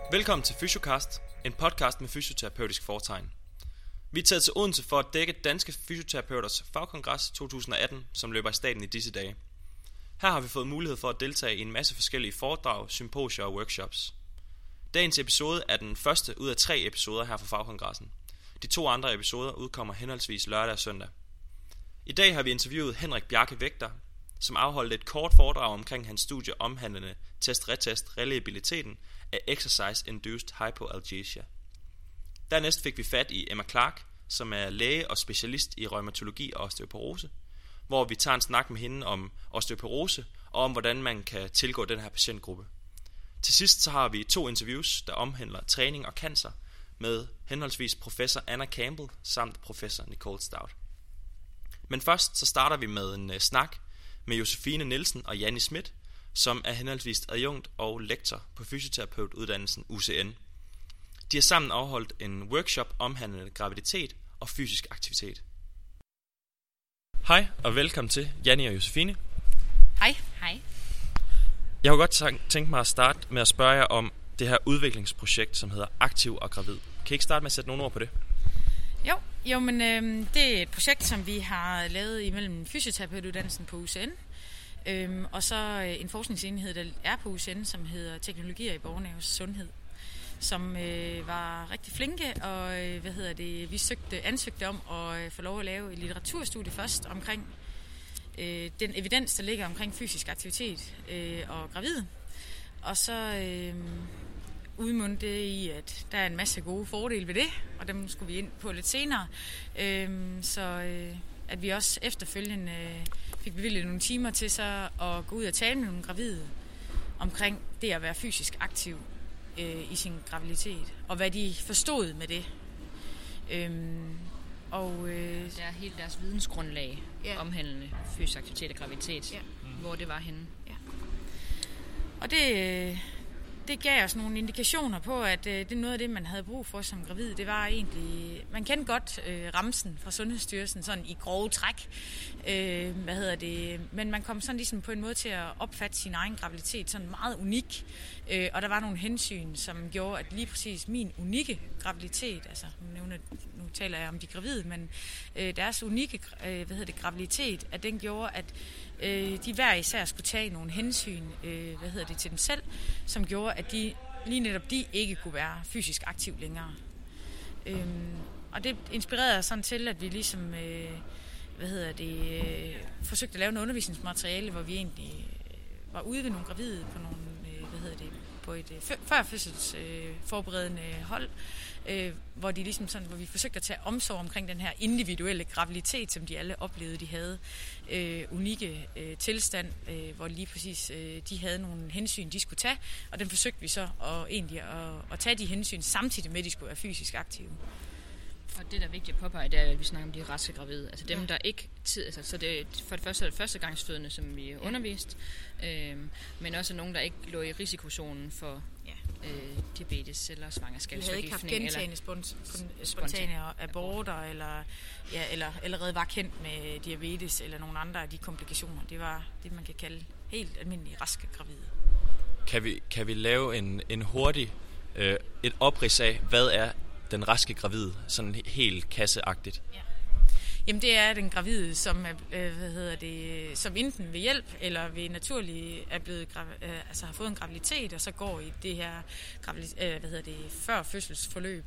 Velkommen til Fysiocast, en podcast med fysioterapeutisk fortegn. Vi er taget til Odense for at dække Danske Fysioterapeuters Fagkongres 2018, som løber i staten i disse dage. Her har vi fået mulighed for at deltage i en masse forskellige foredrag, symposier og workshops. Dagens episode er den første ud af 3 episoder her fra Fagkongressen. De 2 andre episoder udkommer henholdsvis lørdag og søndag. I dag har vi interviewet Henrik Bjarke Vægter, som afholdt et kort foredrag omkring hans studie omhandlende test-retest-reliabiliteten af Exercise-Induced Hypoalgesia. Dernæst fik vi fat i Emma Clark, som er læge og specialist i reumatologi og osteoporose, hvor vi tager en snak med hende om osteoporose og om hvordan man kan tilgå den her patientgruppe. Til sidst så har vi 2 interviews, der omhandler træning og cancer, med henholdsvis professor Anna Campbell samt professor Nicole Stout. Men først så starter vi med en snak med Josefine Nielsen og Janni Schmidt, som er henholdsvis adjunkt og lektor på fysioterapeutuddannelsen UCN. De har sammen afholdt en workshop omhandlende graviditet og fysisk aktivitet. Hej og velkommen til Janni og Josefine. Hej. Hej. Jeg kunne godt tænke mig at starte med at spørge jer om det her udviklingsprojekt, som hedder Aktiv og Gravid. Kan I ikke starte med at sætte nogle ord på det? Jo, men det er et projekt, som vi har lavet imellem fysioterapeutuddannelsen på UCN, og så en forskningsenhed, der er på UCN, som hedder Teknologier i borgernes sundhed, som var rigtig flinke, og vi ansøgte om at få lov at lave et litteraturstudie først omkring den evidens, der ligger omkring fysisk aktivitet og gravid, og så udmundte det i, at der er en masse gode fordele ved det, og dem skulle vi ind på lidt senere, at vi også efterfølgende fik bevilget nogle timer til så at gå ud og tale med nogle gravide omkring det at være fysisk aktiv i sin graviditet, og hvad de forstod med det. Det er helt deres vidensgrundlag omhandlende fysisk aktivitet og graviditet, hvor det var henne. Ja. Og det gav os nogle indikationer på, at det er noget af det, man havde brug for som gravid. Det var egentlig, man kendte godt ramsen fra Sundhedsstyrelsen sådan i grove træk, men man kom sådan ligesom på en måde til at opfatte sin egen graviditet sådan meget unik, og der var nogle hensyn, som gjorde, at lige præcis min unikke graviditet, altså nu taler jeg om de gravide, men deres unikke graviditet, at den gjorde, at de hver især skulle tage nogle hensyn til dem selv, som gjorde, at de lige netop de ikke kunne være fysisk aktiv længere. Og det inspirerede os sådan til, at vi ligesom forsøgte at lave noget undervisningsmateriale, hvor vi egentlig var ude ved nogle gravide på nogle på et førfødsels forberedende hold, hvor de ligesom sådan, hvor vi forsøgte at tage omsorg omkring den her individuelle graviditet, som de alle oplevede, de havde unikke tilstand, hvor lige præcis de havde nogle hensyn, de skulle tage, og den forsøgte vi så at tage de hensyn samtidig med, at de skulle være fysisk aktive. Og det, der er vigtigt at påpege, det er, at vi snakker om de raske gravide. Altså dem, der ikke så det er for det første førstegangsfødende, som vi undervist, men også nogen, der ikke lå i risikozonen for diabetes eller svangerskabsforgiftning. De havde ikke haft gentagende spontane aborter, eller allerede var kendt med diabetes eller nogle andre af de komplikationer. Det var det, man kan kalde helt almindelige raske gravide. Kan vi lave en hurtig et oprids af, hvad er den raske gravide, sådan helt kasseagtigt? Ja. Jamen det er den gravide, som som enten ved hjælp eller ved naturlig er blevet har fået en graviditet, og så går i det her før fødselsforløb.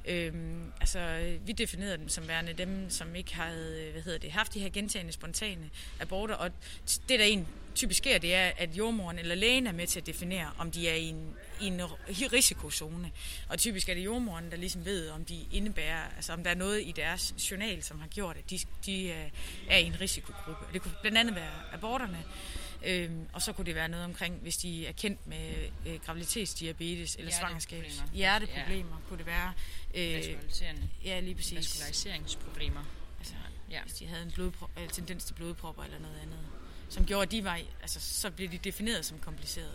Vi definerede dem som værende dem, som ikke havde haft de her gentagende spontane aborter, og det der egentlig typisk sker, det er, at jordmoren eller lægen er med til at definere, om de er i en risikozone. Og typisk er det jordmoren, der ligesom ved, om de indebærer, altså om der er noget i deres journal, som har gjort, at de er i en risikogruppe. Det kunne blandt andet være aborterne, og så kunne det være noget omkring, hvis de er kendt med graviditetsdiabetes eller hjerteproblemer, kunne det være lige præcis. Vasculariseringsproblemer. Altså, hvis de havde en tendens til blodpropper eller noget andet, som gjorde, at de var, så blev de defineret som komplicerede.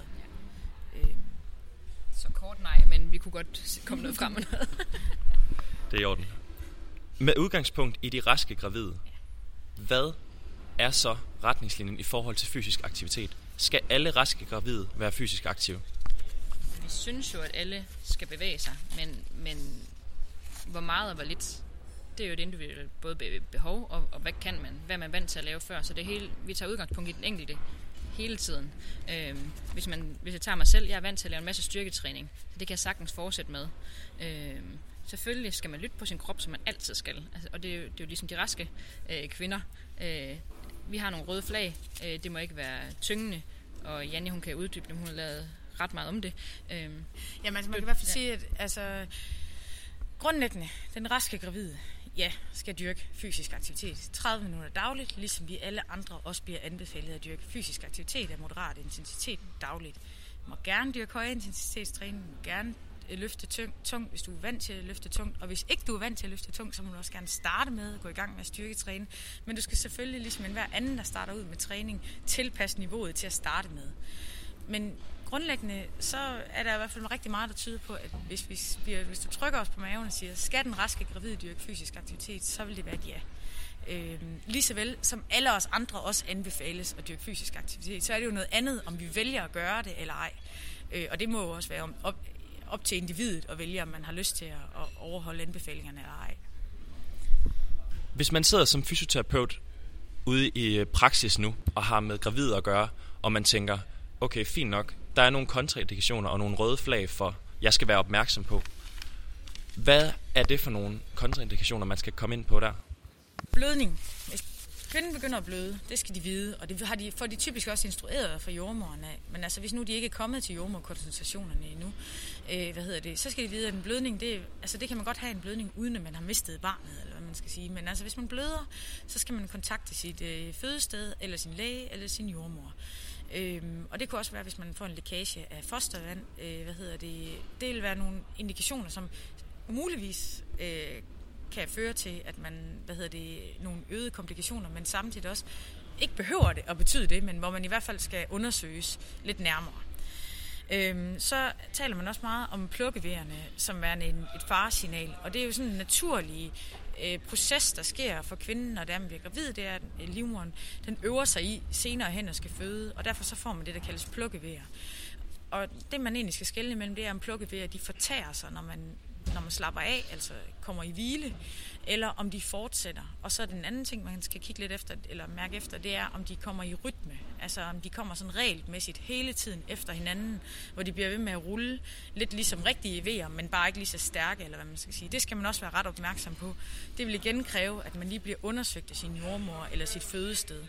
Så kort nej, men vi kunne godt komme noget frem med noget. Det er i orden. Med udgangspunkt i de raske gravide, hvad er så retningslinjen i forhold til fysisk aktivitet? Skal alle raske gravide være fysisk aktive? Vi synes jo, at alle skal bevæge sig, men hvor meget og hvor lidt, det er jo et individuelt både behov, og hvad kan man, hvad er man vant til at lave før. Så det hele, vi tager udgangspunkt i den enkelte hele tiden. Hvis jeg tager mig selv, jeg er vant til at lave en masse styrketræning, så det kan jeg sagtens fortsætte med. Selvfølgelig skal man lytte på sin krop, som man altid skal. Altså, og det er jo ligesom de raske kvinder. Vi har nogle røde flag, det må ikke være tyngende, og Janne, hun kan uddybe det, hun har lavet ret meget om det. Jamen altså, man kan i hvert fald sige, at altså, grundlæggende, den raske gravide, skal dyrke fysisk aktivitet 30 minutter dagligt, ligesom vi alle andre også bliver anbefalet at dyrke fysisk aktivitet af moderat intensitet dagligt. Du må gerne dyrke høj intensitetstræning, du må gerne løfte tungt, hvis du er vant til at løfte tungt, og hvis ikke du er vant til at løfte tungt, så må du også gerne starte med at gå i gang med at styrketræne, men du skal selvfølgelig, ligesom enhver anden, der starter ud med træning, tilpasse niveauet til at starte med. Men grundlæggende, så er der i hvert fald rigtig meget, der tyder på, at hvis du trykker os på maven og siger, skal den raske gravide dyrke fysisk aktivitet, så vil det være et ja. Lige så vel som alle os andre også anbefales at dyrke fysisk aktivitet, så er det jo noget andet, om vi vælger at gøre det eller ej. Og det må jo også være op til individet at vælge, om man har lyst til at overholde anbefalingerne eller ej. Hvis man sidder som fysioterapeut ude i praksis nu, og har med gravide at gøre, og man tænker, okay, fint nok, der er nogle kontraindikationer og nogle røde flag for, jeg skal være opmærksom på. Hvad er det for nogle kontraindikationer, man skal komme ind på der? Blødning. Hvis kvinden begynder at bløde, det skal de vide, og det får de typisk også instrueret fra jordemoderen af. Men altså, hvis nu de ikke er kommet til jordemorkonsultationerne endnu, så skal de vide, at en blødning, det kan man godt have en blødning, uden at man har mistet barnet, eller hvad man skal sige. Men altså, hvis man bløder, så skal man kontakte sit fødested, eller sin læge, eller sin jordemor. Og det kunne også være, hvis man får en lækage af fostervand. Det vil være nogle indikationer, som muligvis kan føre til, at man, nogle øgede komplikationer, men samtidig også ikke behøver det at betyde det, men hvor man i hvert fald skal undersøges lidt nærmere. Så taler man også meget om plukkeveerne, som er et faresignal, og det er jo sådan en naturlig proces, der sker for kvinden, når man bliver gravid, det er, at livmoderen, den øver sig i senere hen og skal føde, og derfor så får man det, der kaldes plukkevejer. Og det, man egentlig skal skelne imellem, det er, om plukkevejer, de fortærer sig, når man slapper af, altså kommer i hvile, eller om de fortsætter. Og så er den anden ting, man skal kigge lidt efter, eller mærke efter, det er, om de kommer i rytme. Altså om de kommer sådan regelmæssigt hele tiden efter hinanden, hvor de bliver ved med at rulle, lidt ligesom rigtige vejer, men bare ikke lige så stærke, eller hvad man skal sige. Det skal man også være ret opmærksom på. Det vil igen kræve, at man lige bliver undersøgt af sin jordmor eller sit fødested.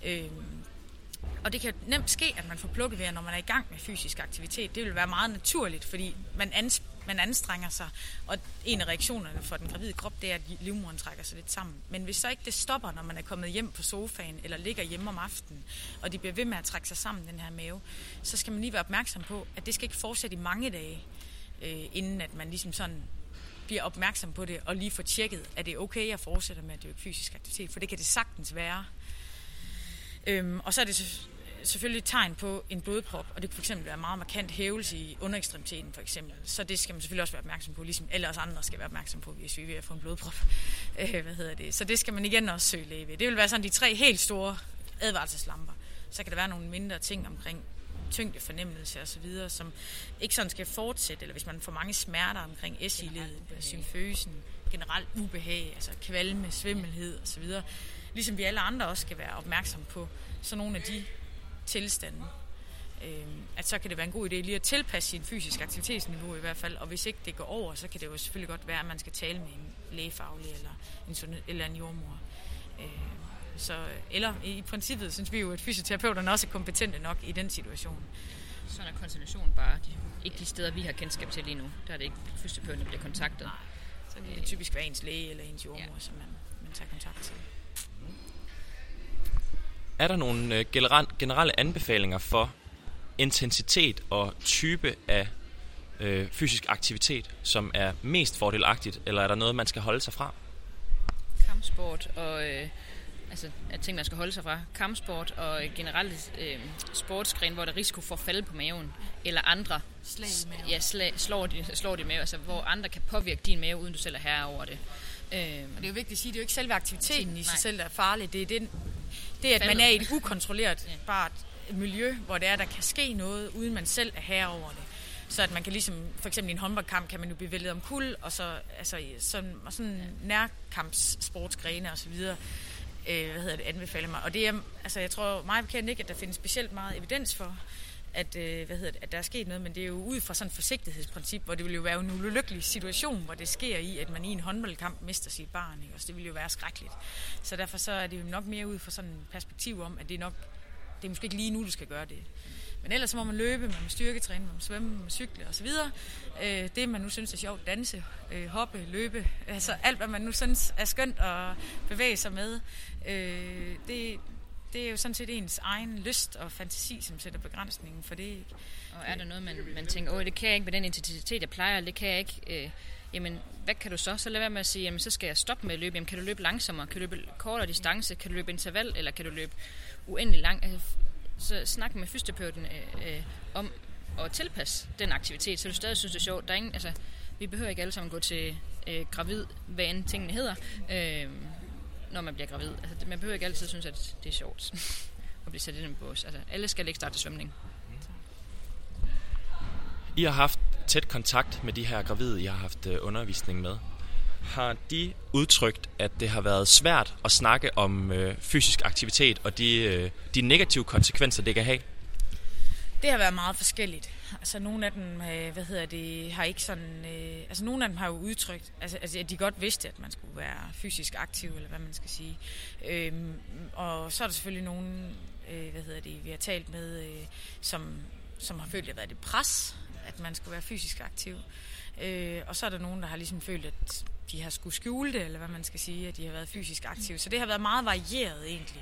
Og det kan nemt ske, at man får plukkevejer, når man er i gang med fysisk aktivitet. Det vil være meget naturligt, fordi man anstrenger sig, og en af reaktionerne for den gravide krop, det er, at livmoderen trækker sig lidt sammen. Men hvis så ikke det stopper, når man er kommet hjem på sofaen, eller ligger hjemme om aftenen, og de bliver ved med at trække sig sammen, den her mave, så skal man lige være opmærksom på, at det skal ikke fortsætte i mange dage, inden at man ligesom sådan bliver opmærksom på det, og lige får tjekket, at det er okay at fortsætte med at dyrke fysisk aktivitet, for det kan det sagtens være. Og så er det selvfølgelig et tegn på en blodprop, og det kan fx være meget markant hævelse i underekstremiteten for eksempel. Så det skal man selvfølgelig også være opmærksom på, ligesom alle os andre skal være opmærksom på, hvis vi er ved at få en blodprop. Så det skal man igen også søge læge ved. Det vil være sådan de 3 helt store advarselslamper. Så kan der være nogle mindre ting omkring tyngdefornemmelse og så videre, som ikke sådan skal fortsætte, eller hvis man får mange smerter omkring SI-ledet, symføsen, generelt ubehag, altså kvalme, svimmelhed og så videre. Ligesom vi alle andre også skal være opmærksom på så nogle af de tilstande, at så kan det være en god idé lige at tilpasse sin fysisk aktivitetsniveau i hvert fald, og hvis ikke det går over, så kan det jo selvfølgelig godt være, at man skal tale med en lægefaglig eller en jordmor. Eller i princippet synes vi jo, at fysioterapeuterne også er kompetente nok i den situation. Sådan er konsultation bare ikke de steder, vi har kendskab til lige nu. Der er det ikke fysioterapeuten, der bliver kontaktet. Nej, så det er typisk være ens læge eller ens jordmor, som man tager kontakt til. Er der nogle generelle anbefalinger for intensitet og type af fysisk aktivitet, som er mest fordelagtigt, eller er der noget, man skal holde sig fra? Kampsport og ting, man skal holde sig fra. Kampsport og generelt sportsgren, hvor der er risiko for at falde på maven, eller andre slår de mave, altså hvor andre kan påvirke din mave, uden du selv er herre over det. Og det er jo vigtigt at sige, det er jo ikke selve aktiviteten i sig selv, der er farligt. Det er, at man er i et ukontrolleret miljø, hvor det er, der kan ske noget, uden man selv er herre over det. Så at man kan ligesom, for eksempel i en håndboldkamp, kan man jo blive væltet om kul, og så altså, sådan nærkampssportsgrene og så videre, anbefaler mig. Og det er, altså jeg tror meget bekendt ikke, at der findes specielt meget evidens for, at der er sket noget, men det er jo ud fra sådan et forsigtighedsprincip, hvor det vil jo være en ulykkelig situation, hvor det sker i, at man i en håndboldkamp mister sit barn, ikke? Og det vil jo være skrækkeligt. Så derfor så er det jo nok mere ud fra sådan et perspektiv om, at det er måske ikke lige nu, du skal gøre det. Men ellers så må man løbe, man må styrketræne, man må svømme, man må cykle osv. Det man nu synes er sjovt, danse, hoppe, løbe, altså alt hvad man nu synes er skønt at bevæge sig med, det er jo sådan set ens egen lyst og fantasi, som sætter begrænsningen for det, ikke? Og er der noget, man tænker, det kan jeg ikke med den intensitet, jeg plejer, det kan jeg ikke, jamen, hvad kan du så? Så lad være med at sige, jamen, så skal jeg stoppe med at løbe. Jamen, kan du løbe langsommere? Kan du løbe kortere distance? Kan du løbe interval? Eller kan du løbe uendelig lang? Altså, så snak med fysioterapeuten om at tilpasse den aktivitet, så du stadig synes, det er sjovt. Der er ingen, altså, vi behøver ikke alle sammen gå til gravid, hvad end tingene hedder, når man bliver gravid. Altså, man behøver ikke altid synes, at det er sjovt at blive sat ind i en bås. Altså, alle skal ikke starte svømning. I har haft tæt kontakt med de her gravide, I har haft undervisning med. Har de udtrykt, at det har været svært at snakke om fysisk aktivitet og de negative konsekvenser, det kan have? Det har været meget forskelligt. Altså nogle af dem, har ikke sådan... altså nogle af dem har jo udtrykt, altså at de godt vidste, at man skulle være fysisk aktiv, eller hvad man skal sige. Og så er der selvfølgelig nogen, vi har talt med, som har følt, at det har været et pres, at man skulle være fysisk aktiv. Og så er der nogen, der har ligesom følt, at de har skulle skjule det, eller hvad man skal sige, at de har været fysisk aktive. Så det har været meget varieret egentlig.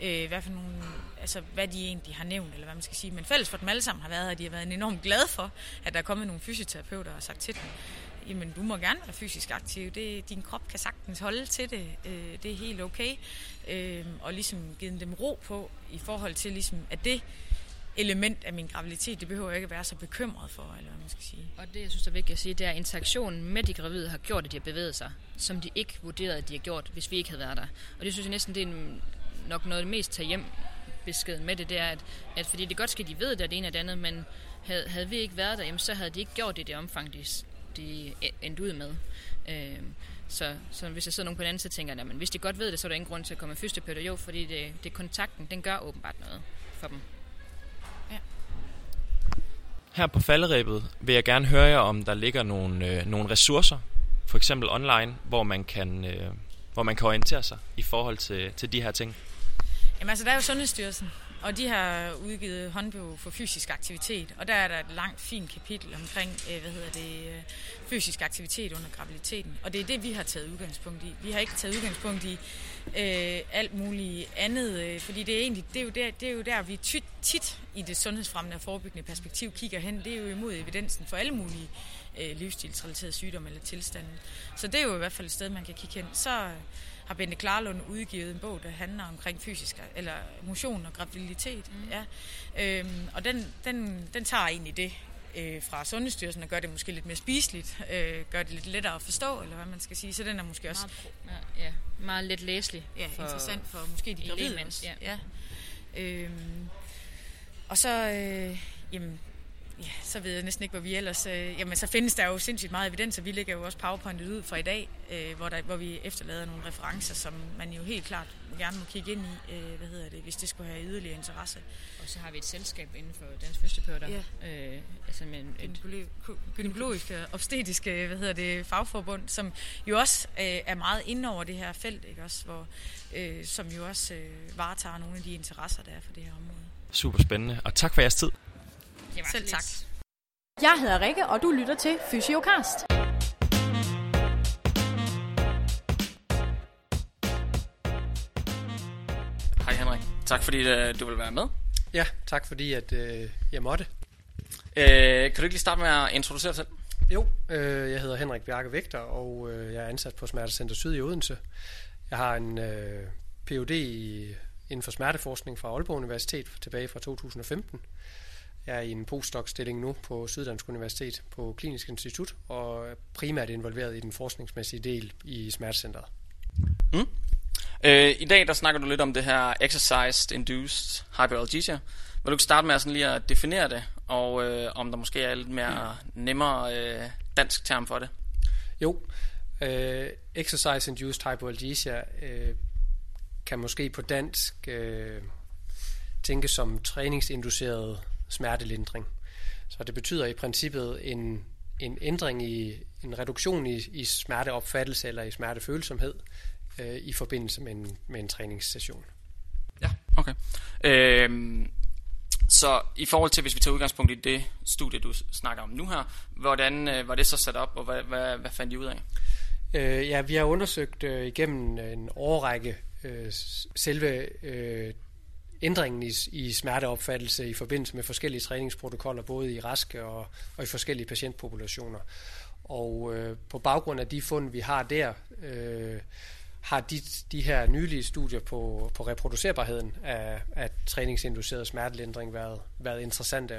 Hvad de egentlig har nævnt, eller hvad man skal sige. Men fælles for dem alle sammen har været, at de har været enormt glade for, at der er kommet nogle fysioterapeuter og har sagt til dem, jamen du må gerne være fysisk aktiv, din krop kan sagtens holde til det, det er helt okay. Og ligesom givet dem ro på, i forhold til ligesom, at det element af min graviditet, det behøver jeg ikke at være så bekymret for, eller hvad man skal sige. Og det, jeg synes er vigtigt at sige, det er, at interaktionen med de gravide har gjort, at de har bevæget sig, som de ikke vurderede, at de har gjort, hvis vi ikke havde været der. Og det synes jeg næsten, det er nok noget af det mest tage hjem beskeden med det, det er, at fordi det godt sker, at de ved, at det er det ene og det andet, men havde vi ikke været der, jamen, så havde de ikke gjort det i det omfang, de endte ud med. Så hvis jeg sidder nogen på den anden, så tænker jeg, men hvis de godt ved det, så er der ingen grund til at komme med fysioterapeuter. Jo, fordi det kontakten, den gør åbenbart noget for dem. Her på falderebet vil jeg gerne høre jer, om der ligger nogle ressourcer, for eksempel online, hvor man kan orientere sig i forhold til de her ting. Jamen altså, der er jo Sundhedsstyrelsen, og de har udgivet håndbog for fysisk aktivitet, og der er der et langt, fint kapitel omkring, fysisk aktivitet under graviditeten, og det er det, vi har taget udgangspunkt i. Vi har ikke taget udgangspunkt i alt muligt andet, fordi det er jo der, vi tit i det sundhedsfremmende og forebyggende perspektiv kigger hen. Det er jo imod evidensen for alle mulige livsstilsrelaterede sygdomme eller tilstande. Så det er jo i hvert fald et sted, man kan kigge hen. Så har Bente Klarlund udgivet en bog, der handler omkring fysisk eller motion og graviditet. Ja. Og den tager egentlig det fra Sundhedsstyrelsen og gør det måske lidt mere spiseligt, gør det lidt lettere at forstå, eller hvad man skal sige. Så den er måske også meget let læselig. Ja, interessant for måske de gravide også. Ja. Og så så ved jeg næsten ikke, hvor vi ellers... så findes der jo sindssygt meget evidens, og vi lægger jo også PowerPointet ud fra i dag, hvor vi efterlader nogle referencer, som man jo helt klart gerne må kigge ind i, hvis det skulle have yderligere interesse. Og så har vi et selskab inden for Dansk Fysioterapeuter. Ja. Gynækologiske, obstetriske, fagforbund, som jo også er meget inde over det her felt, ikke også, som jo også varetager nogle af de interesser, der er for det her område. Super spændende, og tak for jeres tid. Selv tak. Jeg hedder Rikke, og du lytter til Fysiocast. Hej Henrik. Tak fordi du vil være med. Ja, tak fordi at jeg måtte. Kan du ikke lige starte med at introducere dig selv? Jo, jeg hedder Henrik Bjarke Vægter, og jeg er ansat på Smertecenter Syd i Odense. Jeg har en Ph.D. inden for smerteforskning fra Aalborg Universitet tilbage fra 2015. Jeg er i en postdoc-stilling nu på Syddansk Universitet på Klinisk Institut, og er primært involveret i den forskningsmæssige del i smertecentret. I dag der snakker du lidt om det her Exercise-Induced Hyperalgesia. Vil du ikke starte med at, sådan lige at definere det, og om der måske er lidt mere nemmere dansk term for det. Jo, exercise-induced hypoalgesia kan måske på dansk tænkes som træningsinduceret smertelindring. Så det betyder i princippet en ændring en reduktion i smerteopfattelse eller i smertefølsomhed i forbindelse med en træningssession. Ja, okay. Så i forhold til, hvis vi tager udgangspunkt i det studie, du snakker om nu her, hvordan var det så sat op, og hvad fandt I ud af? Ja, vi har undersøgt igennem en årrække selve ændringen i smerteopfattelse i forbindelse med forskellige træningsprotokoller, både i raske og i forskellige patientpopulationer. Og på baggrund af de fund, vi har der, har de her nylige studier på reproducerbarheden af træningsinduceret smertelindring været interessante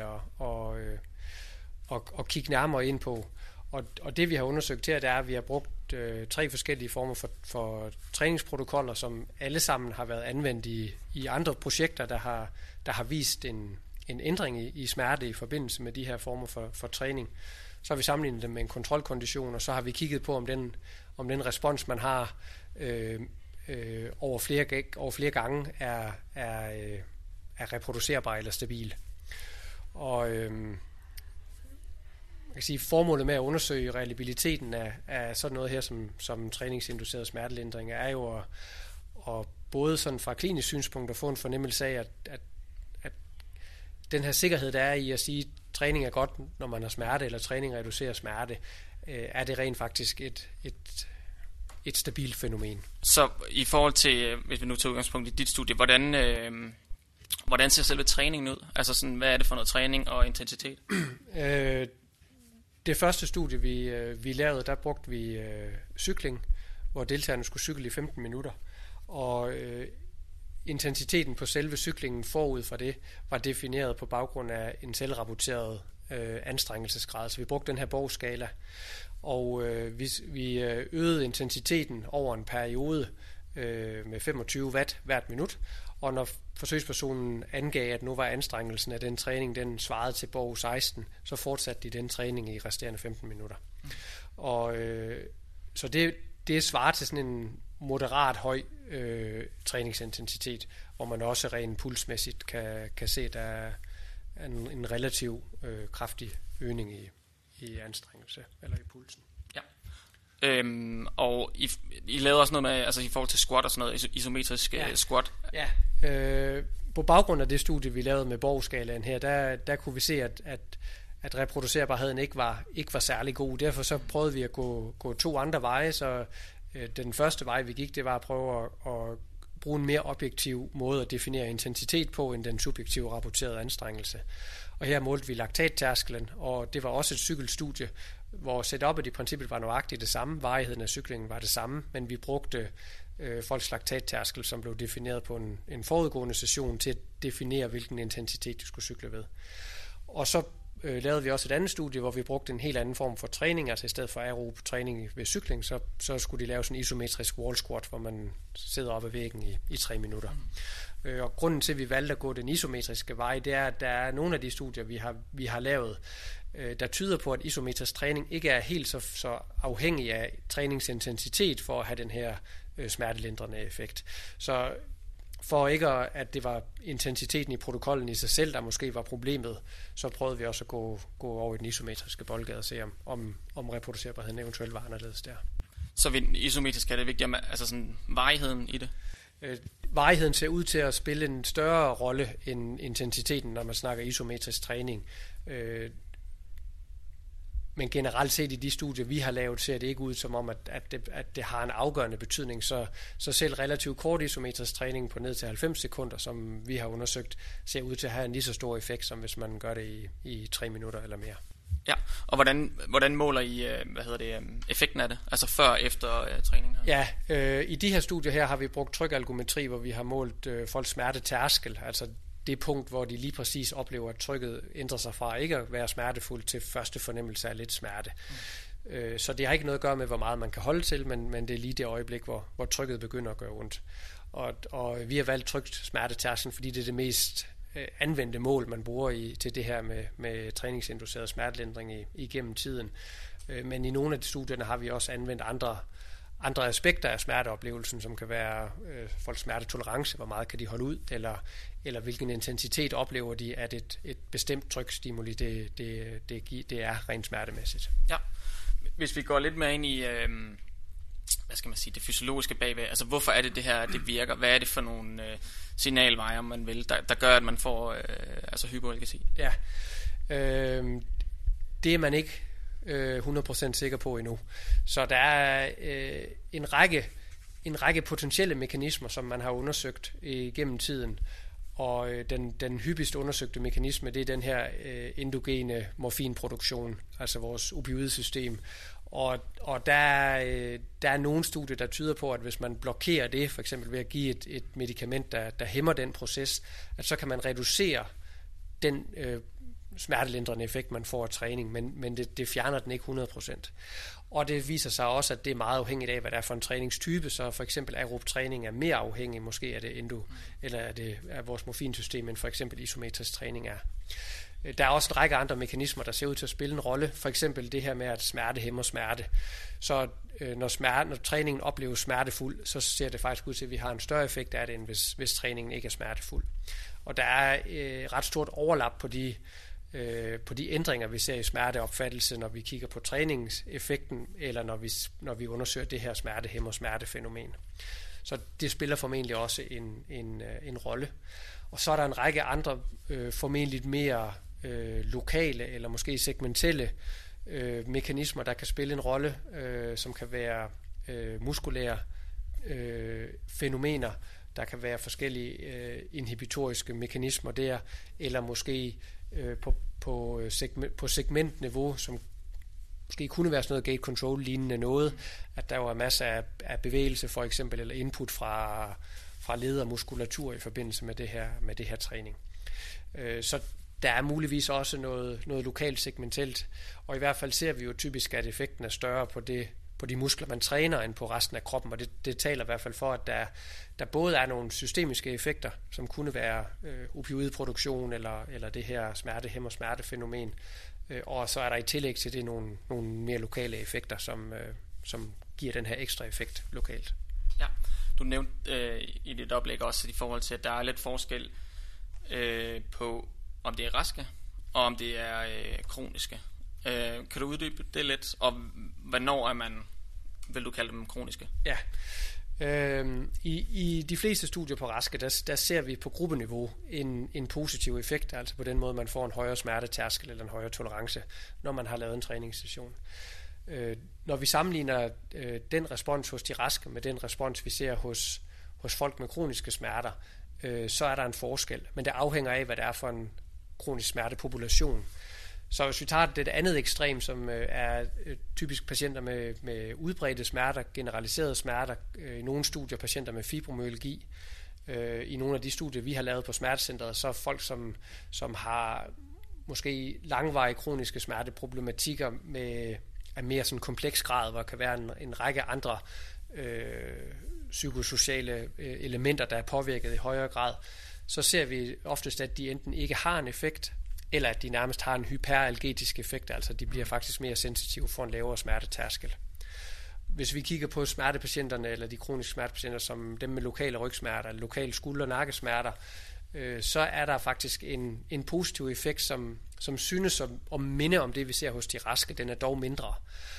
at kigge nærmere ind på. Og det vi har undersøgt her, det er, at vi har brugt 3 forskellige former for træningsprotokoller, som alle sammen har været anvendt i andre projekter, der har vist en ændring i smerte i forbindelse med de her former for træning. Så har vi sammenlignet dem med en kontrolkondition, og så har vi kigget på, om den respons, man har over flere gange, er reproducerbar eller stabil. Og jeg kan sige, formålet med at undersøge reliabiliteten af sådan noget her som træningsinduceret smertelindring er jo at både sådan fra klinisk synspunkt at få en fornemmelse af, at den her sikkerhed, der er i at sige, at træning er godt, når man har smerte, eller træning reducerer smerte, er det rent faktisk et stabilt fænomen. Så i forhold til, hvis vi nu tager udgangspunkt i dit studie, hvordan ser selve træningen ud? Altså sådan, hvad er det for noget træning og intensitet? Det første studie, vi lavede, der brugte vi cykling, hvor deltagerne skulle cykle i 15 minutter. Og intensiteten på selve cyklingen forud for det var defineret på baggrund af en selvrapporteret anstrengelsesgrad. Så vi brugte den her Borg-skala, og vi øgede intensiteten over en periode med 25 watt hvert minut. Og når forsøgspersonen angav, at nu var anstrengelsen af den træning, den svarede til Borg 16, så fortsatte de den træning i resterende 15 minutter. Og så det svarer til sådan en moderat høj træningsintensitet, hvor man også rent pulsmæssigt kan se, at der er en relativ kraftig øgning i anstrengelse eller i pulsen. Ja. Og I lavede også noget med, altså i forhold til squat og sådan noget, isometrisk squat. Ja, på baggrund af det studie, vi lavede med Borg-skalaen her, der kunne vi se, at reproducerbarheden ikke var særlig god. Derfor så prøvede vi at gå 2 andre veje, så den første vej, vi gik, det var at prøve at bruge en mere objektiv måde at definere intensitet på, end den subjektive rapporterede anstrengelse. Og her målte vi laktattærskelen, og det var også et cykelstudie, hvor setupet i princippet var nøjagtigt det samme, varigheden af cyklingen var det samme, men vi brugte folks laktattærskel, som blev defineret på en forudgående session til at definere, hvilken intensitet de skulle cykle ved. Og så lavede vi også et andet studie, hvor vi brugte en helt anden form for træning, altså i stedet for aerob træning ved cykling, så skulle de lave sådan en isometrisk wall squat, hvor man sidder op ad væggen i 3 minutter. Og grunden til, at vi valgte at gå den isometriske vej, det er, at der er nogle af de studier, vi har lavet, der tyder på, at isometrisk træning ikke er helt så afhængig af træningsintensitet for at have den her smertelindrende effekt. Så for ikke at det var intensiteten i protokollen i sig selv, der måske var problemet, så prøvede vi også at gå over i den isometriske boldgade og se, om reproducerbarheden eventuelt var anderledes der. Så ved isometrisk er det vigtigt, altså sådan varigheden i det? Varigheden ser ud til at spille en større rolle end intensiteten, når man snakker isometrisk træning. Men generelt set i de studier, vi har lavet, ser det ikke ud som om, at det har en afgørende betydning. Så selv relativt kort isometrisk træning på ned til 90 sekunder, som vi har undersøgt, ser ud til at have en lige så stor effekt, som hvis man gør det i 3 minutter eller mere. Ja, og hvordan måler I effekten af det? Altså før og efter træning? Her? Ja, i de her studier her har vi brugt trykalgometri, hvor vi har målt folks smertetærskel, altså det punkt, hvor de lige præcis oplever, at trykket ændrer sig fra ikke at være smertefuld til første fornemmelse af lidt smerte. Så det har ikke noget at gøre med, hvor meget man kan holde til, men det er lige det øjeblik, hvor trykket begynder at gøre ondt. Og vi har valgt trykt smertetærskel, fordi det er det mest anvendte mål, man bruger til det her med træningsinduceret smertelindring igennem tiden. Men i nogle af de studierne har vi også anvendt andre aspekter af smerteoplevelsen, som kan være folks smertetolerance, hvor meget kan de holde ud, eller hvilken intensitet oplever de, at et bestemt trykstimuli det er rent smertemæssigt. Ja. Hvis vi går lidt mere ind i hvad skal man sige, det fysiologiske bagved, altså hvorfor er det her, det virker? Hvad er det for nogle signalvejer, man vil, der gør, at man får hypoalgesi? Ja, det er man ikke 100% sikker på endnu. Så der er en række potentielle mekanismer, som man har undersøgt igennem tiden. Og den hyppigst undersøgte mekanisme, det er den her endogene morfinproduktion, altså vores opioidsystem. Og der er nogle studier, der tyder på, at hvis man blokerer det, for eksempel ved at give et medicament, der hæmmer den proces, at så kan man reducere den smertelindrende effekt, man får af træning, men det fjerner den ikke 100%. Og det viser sig også, at det er meget afhængigt af, hvad det er for en træningstype, så for eksempel aerob træning er mere afhængig måske af det eller af vores morfinsystem, end for eksempel isometrisk træning er. Der er også en række andre mekanismer, der ser ud til at spille en rolle. For eksempel det her med, at smerte hæmmer smerte. Så når træningen opleves smertefuld, så ser det faktisk ud til, at vi har en større effekt af det, end hvis træningen ikke er smertefuld. Og der er ret stort overlap på de ændringer, vi ser i smerteopfattelse, når vi kigger på træningseffekten, eller når vi undersøger det her smerte-hæmmer smertefænomen. Så det spiller formentlig også en rolle. Og så er der en række andre formentlig mere lokale eller måske segmentelle mekanismer, der kan spille en rolle, som kan være muskulære fænomener, der kan være forskellige inhibitoriske mekanismer der, eller måske på segmentniveau, som måske kunne være sådan noget gate control lignende noget, at der var masser af bevægelse for eksempel, eller input fra led og muskulatur i forbindelse med det her træning. Så der er muligvis også noget lokalt segmentelt, og i hvert fald ser vi jo typisk, at effekten er større på de muskler, man træner, end på resten af kroppen, og det taler i hvert fald for, at der både er nogle systemiske effekter, som kunne være opioidproduktion eller det her smerte-hæmmer smertefænomen, og så er der i tillæg til det nogle mere lokale effekter, som giver den her ekstra effekt lokalt. Ja, du nævnte i dit oplæg også i forhold til, at der er lidt forskel på, om det er raske, og om det er kroniske. Kan du uddybe det lidt, og hvornår vil du kalde dem kroniske? Ja, i de fleste studier på raske, der ser vi på gruppeniveau en positiv effekt, altså på den måde, man får en højere smertetærskel eller en højere tolerance, når man har lavet en træningssession. Når vi sammenligner den respons hos de raske med den respons, vi ser hos folk med kroniske smerter, så er der en forskel, men det afhænger af, hvad det er for en kronisk smertepopulation. Så hvis vi tager det andet ekstrem, som er typisk patienter med udbredte smerter, generaliserede smerter, i nogle studier patienter med fibromyalgi, i nogle af de studier, vi har lavet på smertecentret, så folk, som har måske langvarige kroniske smerteproblematikker af mere sådan kompleks grad, hvor der kan være en række andre psykosociale elementer, der er påvirket i højere grad, så ser vi oftest, at de enten ikke har en effekt, eller at de nærmest har en hyperalgetisk effekt, altså de bliver faktisk mere sensitive for en lavere smertetærskel. Hvis vi kigger på smertepatienterne, eller de kroniske smertepatienter, som dem med lokale rygsmerter, eller lokale skulder- og nakkesmerter, så er der faktisk en positiv effekt, som synes at minde om det, vi ser hos de raske. Den er dog mindre.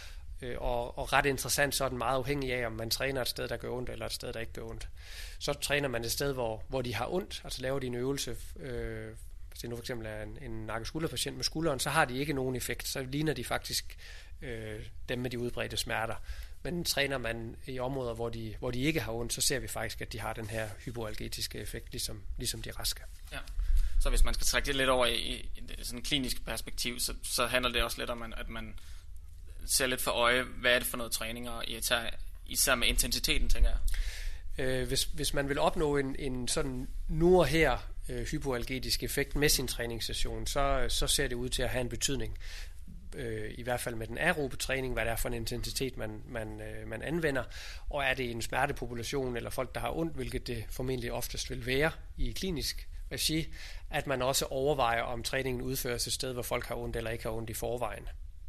Og ret interessant, så er den meget afhængig af, om man træner et sted, der gør ondt, eller et sted, der ikke gør ondt. Så træner man et sted, hvor de har ondt, altså laver de en øvelse. Hvis det nu for eksempel er en nakkeskulderpatient med skulderen, så har de ikke nogen effekt. Så ligner de faktisk dem med de udbredte smerter. Men træner man i områder, hvor de ikke har ondt, så ser vi faktisk, at de har den her hypoalgetiske effekt, ligesom de raske. Ja. Så hvis man skal trække det lidt over i sådan en klinisk perspektiv, så handler det også lidt om, at man ser lidt for øje, hvad er det for noget træning, og især med intensiteten, tænker jeg. Hvis man vil opnå en sådan nu og her hypoalgetisk effekt med sin træningssession, så ser det ud til at have en betydning. I hvert fald med den aerobe træning, hvad det er for en intensitet, man anvender, og er det en smertepopulation eller folk, der har ondt, hvilket det formentlig oftest vil være i klinisk regi, at man også overvejer, om træningen udføres et sted, hvor folk har ondt eller ikke har ondt i forvejen.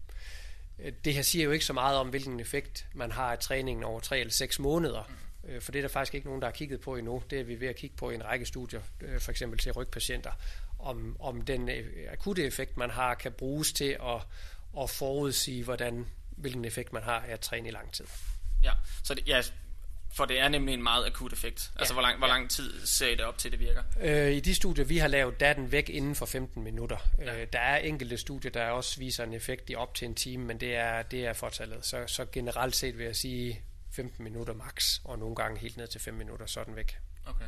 Det her siger jo ikke så meget om, hvilken effekt man har af træningen over 3 eller 6 måneder, for det er der faktisk ikke nogen, der har kigget på endnu. Det er vi ved at kigge på i en række studier, for eksempel til rygpatienter, om den akutte effekt, man har, kan bruges til at forudsige, hvilken effekt man har af at træne i lang tid. Ja, så for det er nemlig en meget akut effekt. Altså, hvor lang tid ser I det op til, det virker? I de studier, vi har lavet, der er den væk inden for 15 minutter. Ja. Der er enkelte studier, der også viser en effekt i op til en time, men det er fortallet. Så generelt set vil jeg sige 15 minutter max, og nogle gange helt ned til 5 minutter, så er den væk. Okay.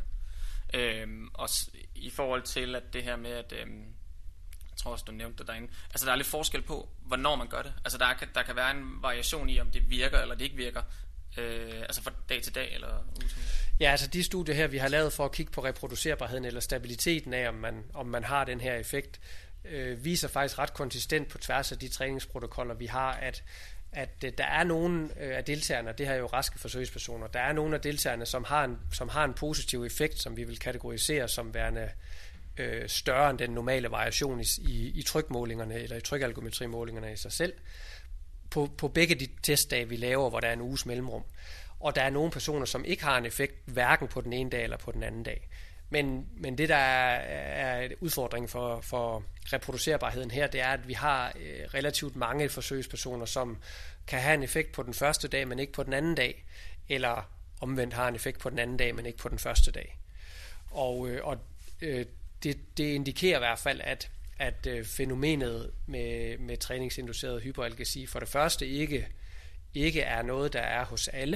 Og i forhold til at det her med, at jeg tror også, du nævnte det derinde, altså der er lidt forskel på, hvornår man gør det. Altså der kan være en variation i, om det virker eller det ikke virker. Altså fra dag til dag eller uge til uge? Ja, altså de studier her, vi har lavet for at kigge på reproducerbarheden eller stabiliteten af, om man har den her effekt, viser faktisk ret konsistent på tværs af de træningsprotokoller, vi har, at der er nogle af deltagerne, det her er jo raske forsøgspersoner, der er nogle af deltagerne, som har en positiv effekt, som vi vil kategorisere som værende større end den normale variation i trykmålingerne eller i trykalgometrimålingerne i sig selv, på begge de testdage, vi laver, hvor der er en uges mellemrum. Og der er nogle personer, som ikke har en effekt, hverken på den ene dag eller på den anden dag. Men det, der er udfordringen for reproducerbarheden her, det er, at vi har relativt mange forsøgspersoner, som kan have en effekt på den første dag, men ikke på den anden dag, eller omvendt har en effekt på den anden dag, men ikke på den første dag. Og det indikerer i hvert fald, at fænomenet med træningsinduceret hyperalgesi for det første ikke er noget, der er hos alle.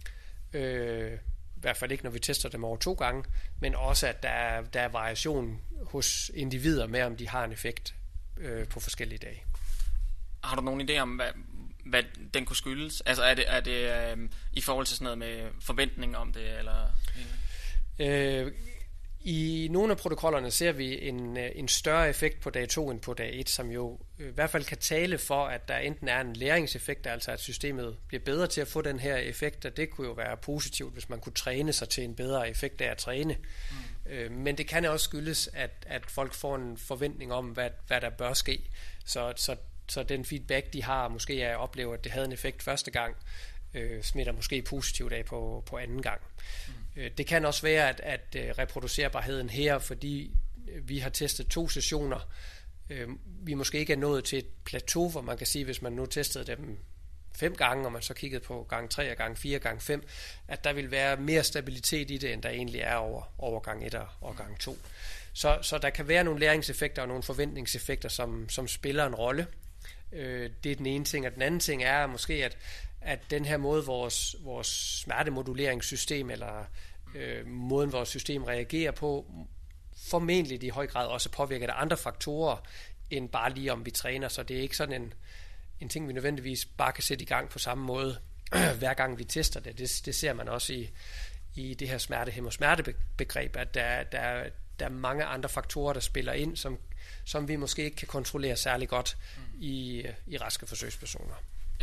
I hvert fald ikke, når vi tester dem over 2 gange, men også, at der er variation hos individer med, om de har en effekt på forskellige dage. Har du nogen idé om, hvad den kunne skyldes? Altså er det i forhold til sådan noget med forventning om det? Eller? I nogle af protokollerne ser vi en større effekt på dag 2 end på dag 1, som jo i hvert fald kan tale for, at der enten er en læringseffekt, altså at systemet bliver bedre til at få den her effekt, og det kunne jo være positivt, hvis man kunne træne sig til en bedre effekt af at træne. Men det kan også skyldes, at folk får en forventning om, hvad der bør ske. Så den feedback, de har, måske er at opleve, at det havde en effekt første gang, smitter måske positivt af på anden gang. Det kan også være, at reproducerbarheden her, fordi vi har testet 2 sessioner, vi måske ikke er nået til et plateau, hvor man kan sige, hvis man nu testede dem 5 gange, og man så kiggede på gang 3 og gang 4 gang 5, at der vil være mere stabilitet i det, end der egentlig er over gang 1 og gang 2. Så der kan være nogle læringseffekter og nogle forventningseffekter, som spiller en rolle. Det er den ene ting, og den anden ting er måske, at den her måde, vores smertemoduleringssystem eller måden, vores system reagerer på, formentlig i høj grad også påvirker af andre faktorer, end bare lige om vi træner. Så det er ikke sådan en ting, vi nødvendigvis bare kan sætte i gang på samme måde, hver gang vi tester det. Det ser man også i det her smertebegreb, at der er mange andre faktorer, der spiller ind, som vi måske ikke kan kontrollere særlig godt i raske forsøgspersoner. Ja.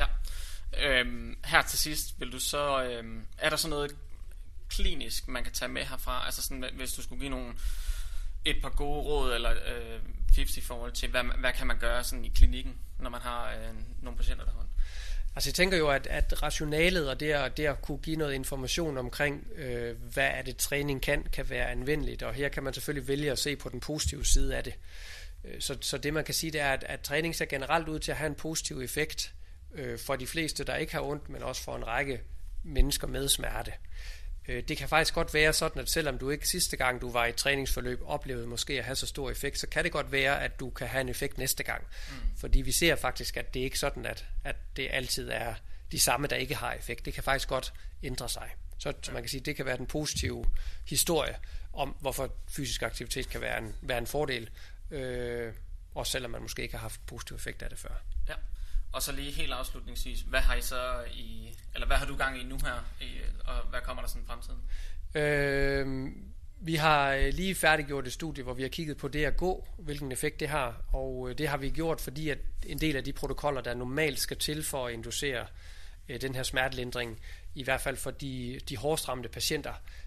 Her til sidst, vil du så er der så noget klinisk, man kan tage med herfra? Altså sådan, hvis du skulle give et par gode råd eller tips i forhold til, hvad kan man gøre sådan i klinikken, når man har nogle patienter der har? Altså jeg tænker jo, at rationalet og det at kunne give noget information omkring, hvad er det træning kan være anvendeligt, og her kan man selvfølgelig vælge at se på den positive side af det. Så det man kan sige, det er, at træning ser generelt ud til at have en positiv effekt for de fleste, der ikke har ondt, men også for en række mennesker med smerte. Det kan faktisk godt være sådan, at selvom du ikke sidste gang, du var i et træningsforløb, oplevede måske at have så stor effekt, så kan det godt være, at du kan have en effekt næste gang. Fordi vi ser faktisk, at det ikke er sådan, at det altid er de samme, der ikke har effekt. Det kan faktisk godt ændre sig. Så man kan sige, at det kan være den positive historie om, hvorfor fysisk aktivitet kan være en fordel, også selvom man måske ikke har haft positiv effekt af det før. Ja. Og så lige helt afslutningsvis, hvad har I så hvad har du gang i nu her, og hvad kommer der sådan i fremtiden? Vi har lige færdiggjort et studie, hvor vi har kigget på det at gå, hvilken effekt det har, og det har vi gjort, fordi at en del af de protokoller, der normalt skal til for at inducere den her smertelindring, i hvert fald for de hårdest ramte patienter,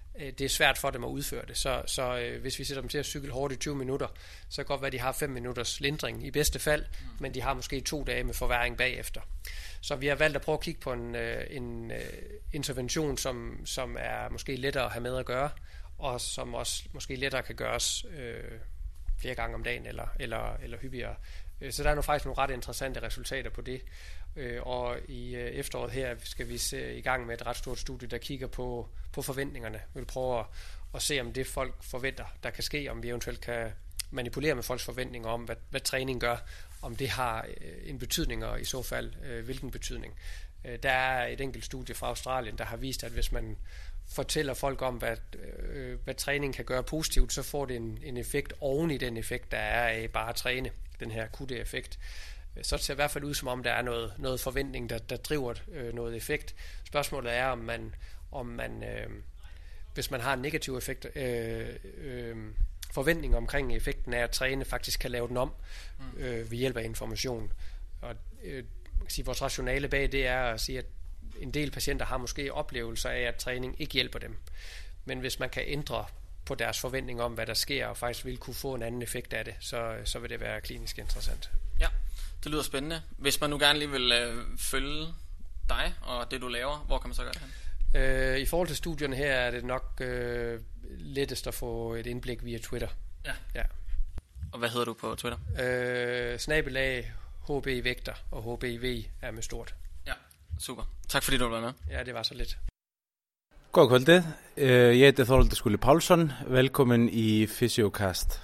det er svært for dem at udføre det. Så hvis vi sætter dem til at cykle hårdt i 20 minutter, så kan det godt være, at de har 5 minutters lindring i bedste fald, men de har måske 2 dage med forværing bagefter. Så vi har valgt at prøve at kigge på en intervention, som er måske lettere at have med at gøre, og som også måske lettere kan gøres flere gange om dagen eller hyppigere. Så der er faktisk nogle ret interessante resultater på det. Og i efteråret her skal vi se i gang med et ret stort studie, der kigger på forventningerne. Vi vil prøve at se, om det folk forventer, der kan ske, om vi eventuelt kan manipulere med folks forventninger om, hvad træning gør, om det har en betydning, og i så fald hvilken betydning. Der er et enkelt studie fra Australien, der har vist, at hvis man fortæller folk om, hvad træning kan gøre positivt, så får det en effekt oven i den effekt, der er af bare at træne, den her akutte effekt. Så det ser i hvert fald ud, som om der er noget forventning, der driver noget effekt. Spørgsmålet er, om man hvis man har en negativ effekt, forventning omkring effekten af at træne, faktisk kan lave den om ved hjælp af information. Og vores rationale bag det er at sige, at en del patienter har måske oplevelser af, at træning ikke hjælper dem. Men hvis man kan ændre på deres forventning om, hvad der sker, og faktisk vil kunne få en anden effekt af det, så vil det være klinisk interessant. Ja, det lyder spændende. Hvis man nu gerne lige vil følge dig og det, du laver, hvor kan man så gøre det hen? I forhold til studierne her er det nok lettest at få et indblik via Twitter. Ja. Og hvad hedder du på Twitter? @ HB-vægter, og HBV er med stort. Ja, super. Tak fordi du var med. Ja, det var så lidt. God kvalitet. Jeg heter Þorvaldur Skúli Pálsson. Velkommen i Fysiocast.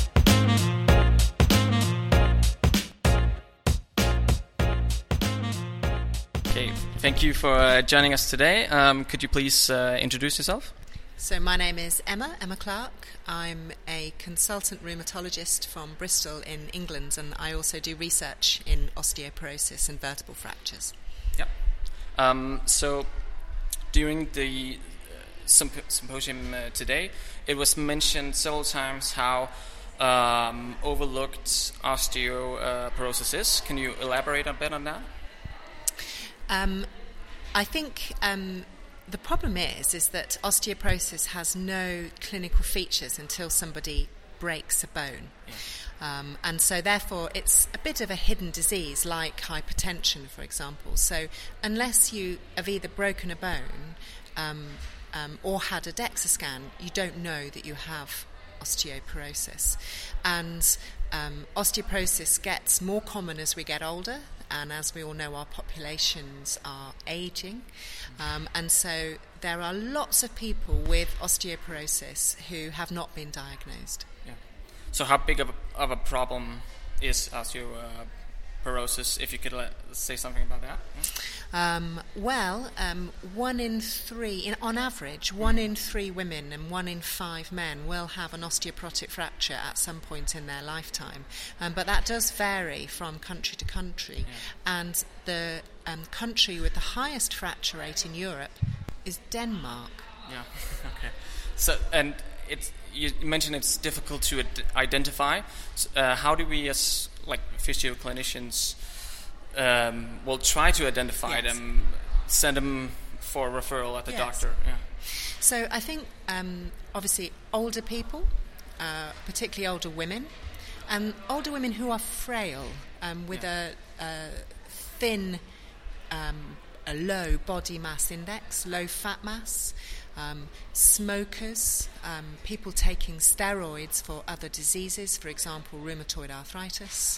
Okay, thank you for joining us today. Could you please introduce yourself? So my name is Emma Clark. I'm a consultant rheumatologist from Bristol in England, and I also do research in osteoporosis and vertebral fractures. Yeah. So during the symposium today, it was mentioned several times how overlooked osteoporosis is. Can you elaborate a bit on that? I think the problem is that osteoporosis has no clinical features until somebody breaks a bone. Yeah. And so therefore it's a bit of a hidden disease like hypertension, for example. So unless you have either broken a bone or had a DEXA scan, you don't know that you have osteoporosis. And osteoporosis gets more common as we get older, and as we all know, our populations are aging. And so there are lots of people with osteoporosis who have not been diagnosed. Yeah. So how big of a problem is osteoporosis, if you could say something about that? Yeah. 1 in 3, on average, 1 in 3 women and 1 in 5 men will have an osteoporotic fracture at some point in their lifetime. But that does vary from country to country. Yeah. And the country with the highest fracture rate in Europe is Denmark. Yeah, okay. So, and you mentioned it's difficult to identify. How do we, as physio clinicians, will try to identify them, send them for a referral at the doctor? Yeah. So I think obviously older people, particularly older women, and older women who are frail with a thin, a low body mass index, low fat mass, smokers, people taking steroids for other diseases, for example rheumatoid arthritis,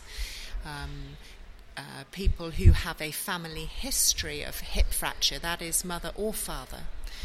people who have a family history of hip fracture, that is mother or father,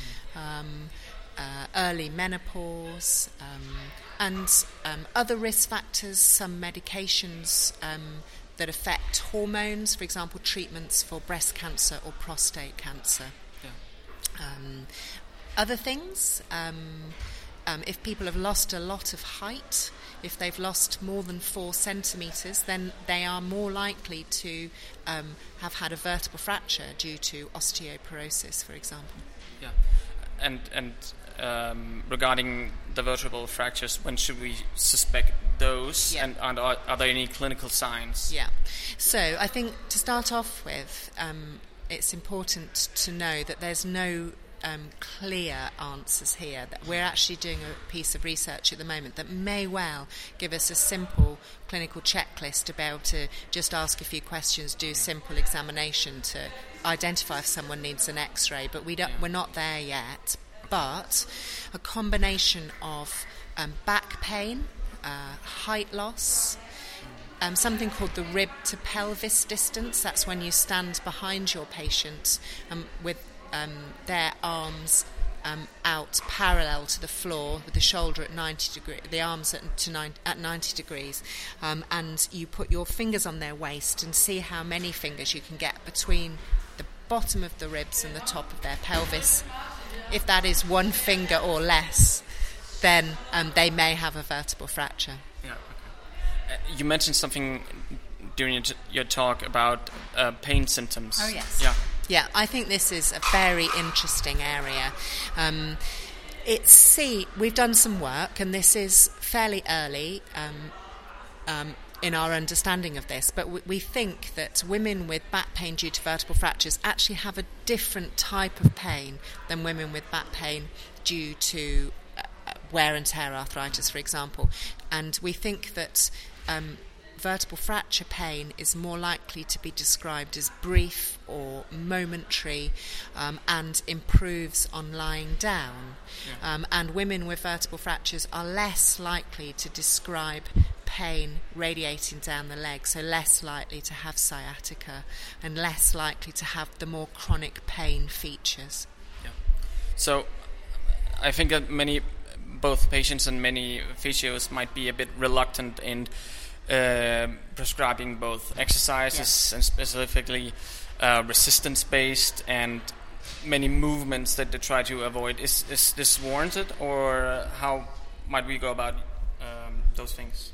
early menopause, and other risk factors, some medications that affect hormones, for example treatments for breast cancer or prostate cancer. Yeah. Other things, if people have lost a lot of height, if they've lost more than 4 centimetres, then they are more likely to have had a vertebral fracture due to osteoporosis, for example. Yeah, and regarding the vertebral fractures, when should we suspect those? Yeah. And are there any clinical signs? Yeah, so I think to start off with, it's important to know that there's no clear answers here. That we're actually doing a piece of research at the moment that may well give us a simple clinical checklist to be able to just ask a few questions, do a simple examination to identify if someone needs an X-ray. But we're not there yet. But a combination of back pain, height loss, something called the rib to pelvis distance. That's when you stand behind your patient with their arms out parallel to the floor, with the shoulder at 90 degrees, the arms at 90 degrees, and you put your fingers on their waist and see how many fingers you can get between the bottom of the ribs and the top of their pelvis. If that is one finger or less, then they may have a vertebral fracture. Yeah. Okay. You mentioned something during your talk about pain symptoms. Oh yes. Yeah. Yeah, I think this is a very interesting area. We've done some work, and this is fairly early in our understanding of this, but we think that women with back pain due to vertebral fractures actually have a different type of pain than women with back pain due to wear and tear arthritis, for example. And we think that vertebral fracture pain is more likely to be described as brief or momentary and improves on lying down. Yeah. And women with vertebral fractures are less likely to describe pain radiating down the leg, so less likely to have sciatica and less likely to have the more chronic pain features. Yeah. So I think that both patients and many physios might be a bit reluctant in prescribing both exercises and specifically resistance-based and many movements that they try to avoid. Is this warranted, or how might we go about those things?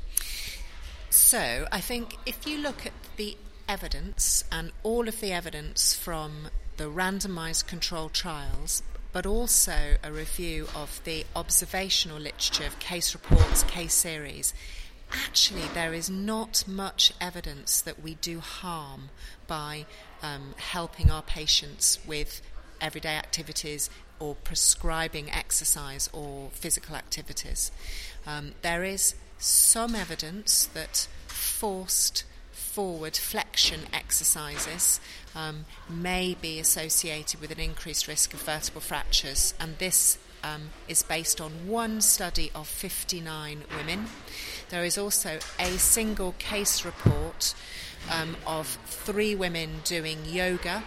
So I think if you look at the evidence and all of the evidence from the randomized controlled trials, but also a review of the observational literature of case reports, case series, actually there is not much evidence that we do harm by helping our patients with everyday activities or prescribing exercise or physical activities. There is some evidence that forced forward flexion exercises may be associated with an increased risk of vertebral fractures, and this is based on one study of 59 women. There is also a single case report of 3 women doing yoga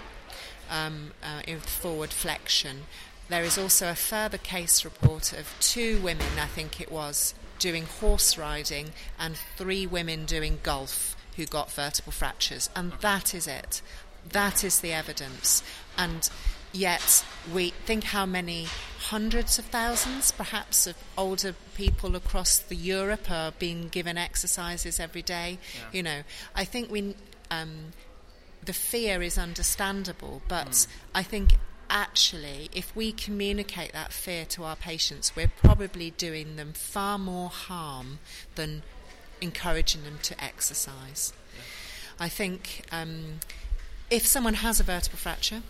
in forward flexion. There is also a further case report of 2 women, I think it was, doing horse riding, and 3 women doing golf who got vertebral fractures. And that is it. That is the evidence. And yet we think how many hundreds of thousands, perhaps, of older people across Europe are being given exercises every day. Yeah. You know, I think the fear is understandable, but I think actually, if we communicate that fear to our patients, we're probably doing them far more harm than encouraging them to exercise. Yeah. I think if someone has a vertebral fracture,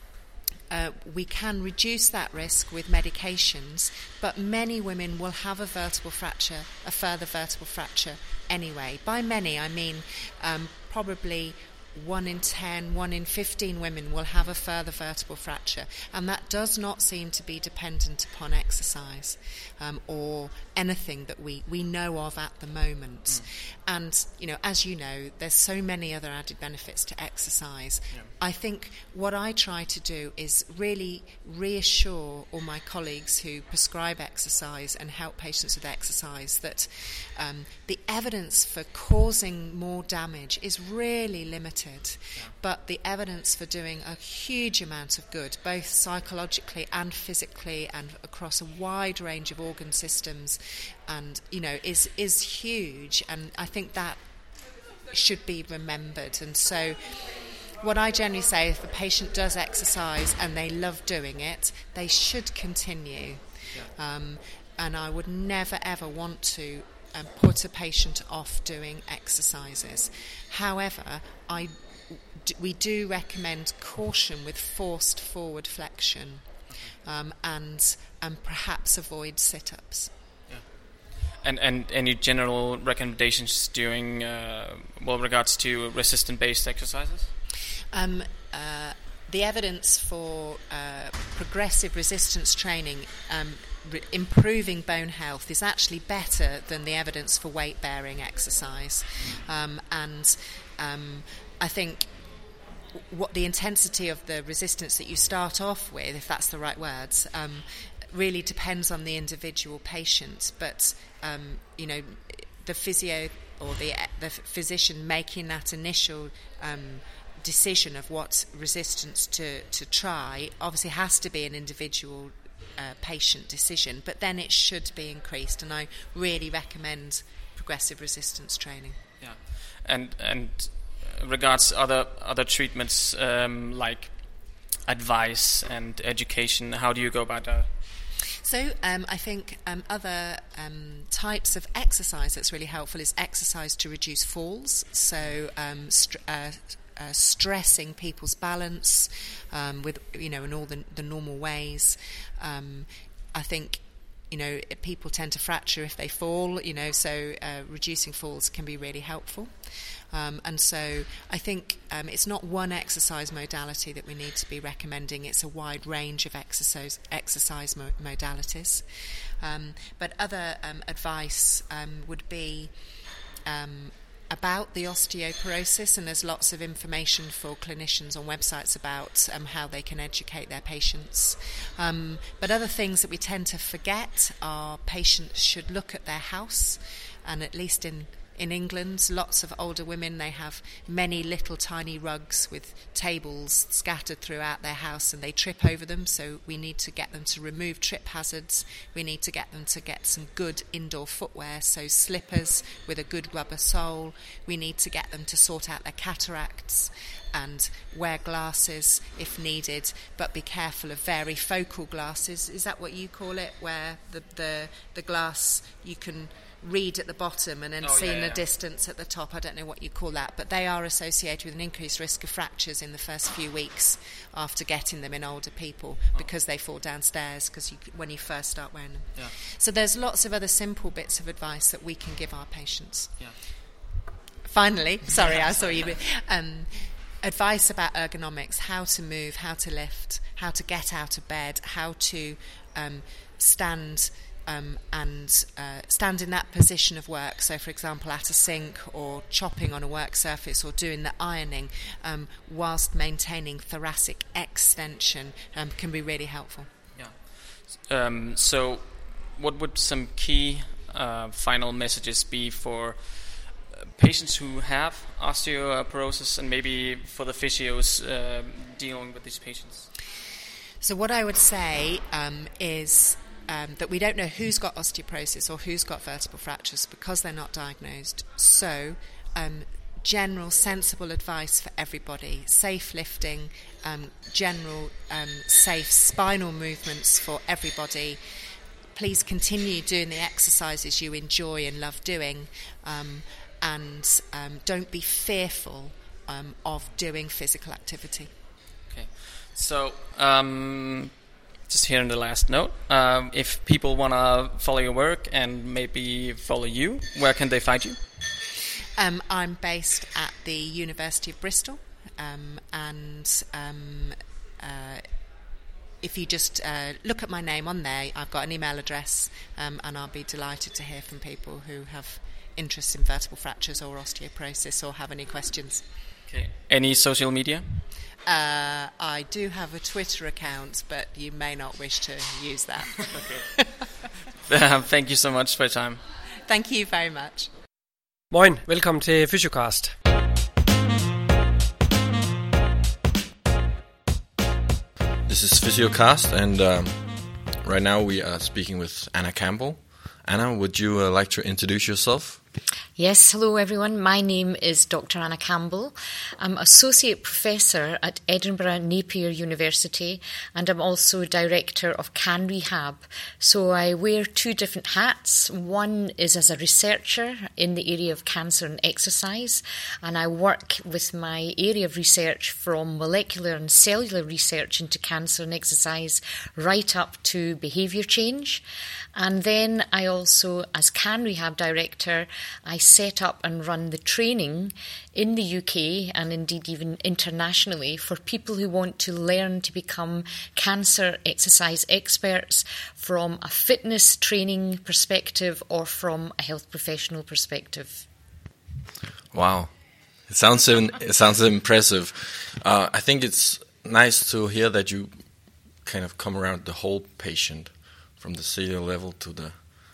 we can reduce that risk with medications, but many women will have a further vertebral fracture anyway. By many, I mean probably 1 in 10, 1 in 15 women will have a further vertebral fracture, and that does not seem to be dependent upon exercise or anything that we know of at the moment. And, you know, as you know, there's so many other added benefits to exercise. Yeah. I think what I try to do is really reassure all my colleagues who prescribe exercise and help patients with exercise that the evidence for causing more damage is really limited. Yeah. But the evidence for doing a huge amount of good, both psychologically and physically and across a wide range of organ systems, and, you know, is huge. And I think that should be remembered. And so what I generally say, if a patient does exercise and they love doing it, they should continue. Yeah. And I would never ever want to put a patient off doing exercises. However, we do recommend caution with forced forward flexion. and perhaps avoid sit-ups. And any general recommendations during, regards to resistant-based exercises? The evidence for progressive resistance training improving bone health is actually better than the evidence for weight-bearing exercise. And I think what the intensity of the resistance that you start off with, if that's the right words, really depends on the individual patient. But the physio or the physician making that initial decision of what resistance to try obviously has to be an individual patient decision, but then it should be increased, and I really recommend progressive resistance training. Yeah, and regards other treatments like advice and education, how do you go about that? So I think other types of exercise that's really helpful is exercise to reduce falls. So stressing people's balance with in all the normal ways. I think people tend to fracture if they fall. So reducing falls can be really helpful. And so I think it's not one exercise modality that we need to be recommending. It's a wide range of exercise modalities. But other advice would be about the osteoporosis, and there's lots of information for clinicians on websites about how they can educate their patients. But other things that we tend to forget are patients should look at their house, and at least in England, lots of older women, they have many little tiny rugs with tables scattered throughout their house, and they trip over them, so we need to get them to remove trip hazards. We need to get them to get some good indoor footwear, so slippers with a good rubber sole. We need to get them to sort out their cataracts and wear glasses if needed, but be careful of varifocal glasses. Is that what you call it, where the glass you can read at the bottom and then see in the distance at the top? I don't know what you call that, but they are associated with an increased risk of fractures in the first few weeks after getting them in older people because they fall downstairs when you first start wearing them. Yeah. So there's lots of other simple bits of advice that we can give our patients. Yeah. Finally, sorry, I saw you. Advice about ergonomics, how to move, how to lift, how to get out of bed, how to stand stand in that position of work. So, for example, at a sink or chopping on a work surface or doing the ironing, whilst maintaining thoracic extension, can be really helpful. Yeah. So, what would some key final messages be for patients who have osteoporosis, and maybe for the physios dealing with these patients? So what I would say is that we don't know who's got osteoporosis or who's got vertebral fractures because they're not diagnosed. So general sensible advice for everybody, safe lifting, general safe spinal movements for everybody. Please continue doing the exercises you enjoy and love doing, and don't be fearful of doing physical activity. Okay, so just here in the last note, if people want to follow your work and maybe follow you, where can they find you? I'm based at the University of Bristol, and if you just look at my name on there, I've got an email address, and I'll be delighted to hear from people who have interest in vertebral fractures or osteoporosis or have any questions. Okay. Any social media? I do have a Twitter account, but you may not wish to use that. Okay. Thank you so much for your time. Thank you very much. Moin, velkommen til Fysiocast. This is Fysiocast, and right now we are speaking with Anna Campbell. Anna, would you like to introduce yourself? Yes, hello everyone. My name is Dr. Anna Campbell. I'm Associate Professor at Edinburgh Napier University, and I'm also Director of Can Rehab. So I wear two different hats. One is as a researcher in the area of cancer and exercise, and I work with my area of research from molecular and cellular research into cancer and exercise right up to behaviour change. And then I also, as Can Rehab Director, I set up and run the training in the UK and indeed even internationally for people who want to learn to become cancer exercise experts from a fitness training perspective or from a health professional perspective. Wow, it sounds impressive. I think it's nice to hear that you kind of come around the whole patient, from the cellular level to the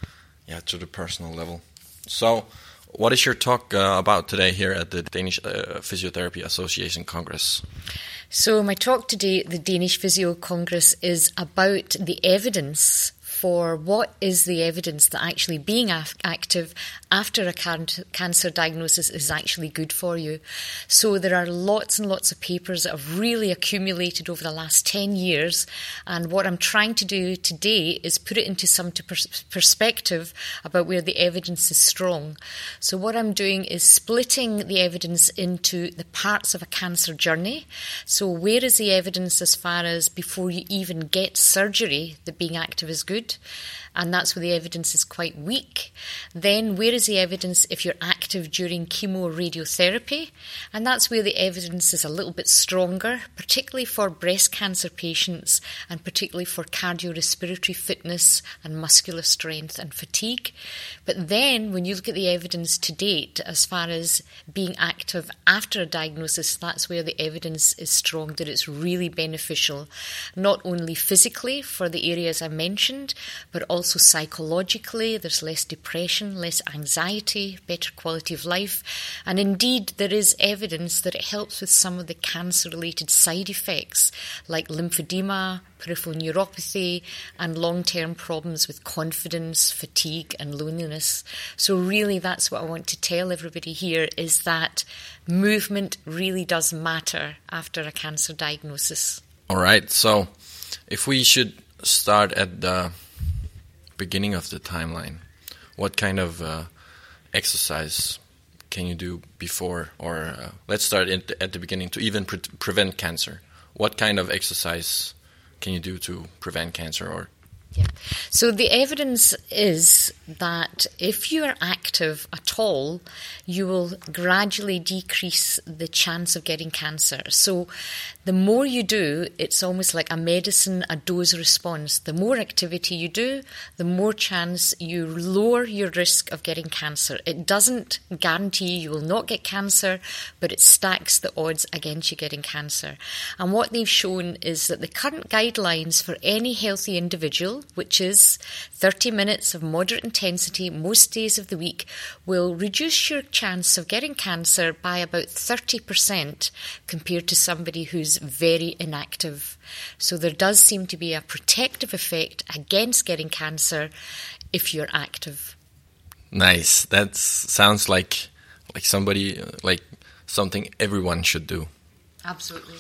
personal level. So, what is your talk about today here at the Danish Physiotherapy Association Congress? So my talk today at the Danish Physio Congress is about the evidence for what is the evidence that actually being active after a cancer diagnosis is actually good for you. So there are lots and lots of papers that have really accumulated over the last 10 years, and what I'm trying to do today is put it into some perspective about where the evidence is strong. So what I'm doing is splitting the evidence into the parts of a cancer journey. So where is the evidence as far as before you even get surgery that being active is good? And that's where the evidence is quite weak. Then where is the evidence if you're active during chemoradiotherapy? And that's where the evidence is a little bit stronger, particularly for breast cancer patients and particularly for cardiorespiratory fitness and muscular strength and fatigue. But then when you look at the evidence to date as far as being active after a diagnosis, that's where the evidence is strong that it's really beneficial, not only physically for the areas I mentioned, but also psychologically. There's less depression, less anxiety, better quality of life, and indeed there is evidence that it helps with some of the cancer-related side effects like lymphedema, peripheral neuropathy, and long-term problems with confidence, fatigue and loneliness. So really that's what I want to tell everybody here, is that movement really does matter after a cancer diagnosis. All right, so if we should start at the beginning of the timeline, what kind of exercise can you do before, or let's start at the beginning, to even prevent cancer? What kind of exercise can you do to prevent cancer? Or yeah. So the evidence is that if you are active at all, you will gradually decrease the chance of getting cancer. So the more you do, it's almost like a medicine, a dose response. The more activity you do, the more chance you lower your risk of getting cancer. It doesn't guarantee you will not get cancer, but it stacks the odds against you getting cancer. And what they've shown is that the current guidelines for any healthy individual, which is 30 minutes of moderate intensity most days of the week, will reduce your chance of getting cancer by about 30% compared to somebody who's very inactive. So there does seem to be a protective effect against getting cancer if you're active. Nice. That sounds like something everyone should do. Absolutely.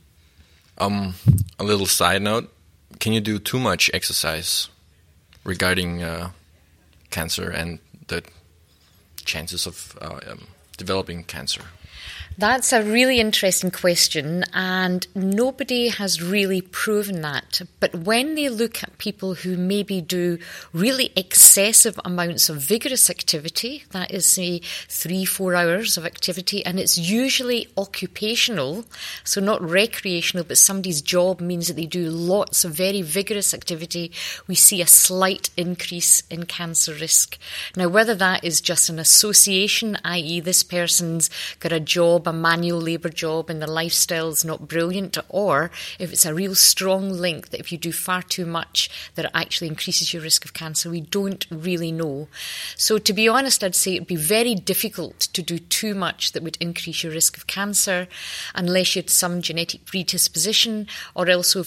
A little side note: can you do too much exercise regarding cancer and the chances of developing cancer? That's a really interesting question, and nobody has really proven that. But when they look at people who maybe do really excessive amounts of vigorous activity, that is, say, 3-4 hours of activity, and it's usually occupational, so not recreational, but somebody's job means that they do lots of very vigorous activity, we see a slight increase in cancer risk. Now, whether that is just an association, i.e. this person's got a job, a manual labour job, and the lifestyle's not brilliant, or if it's a real strong link that if you do far too much that it actually increases your risk of cancer, we don't really know. So to be honest, I'd say it'd be very difficult to do too much that would increase your risk of cancer unless you had some genetic predisposition, or also if you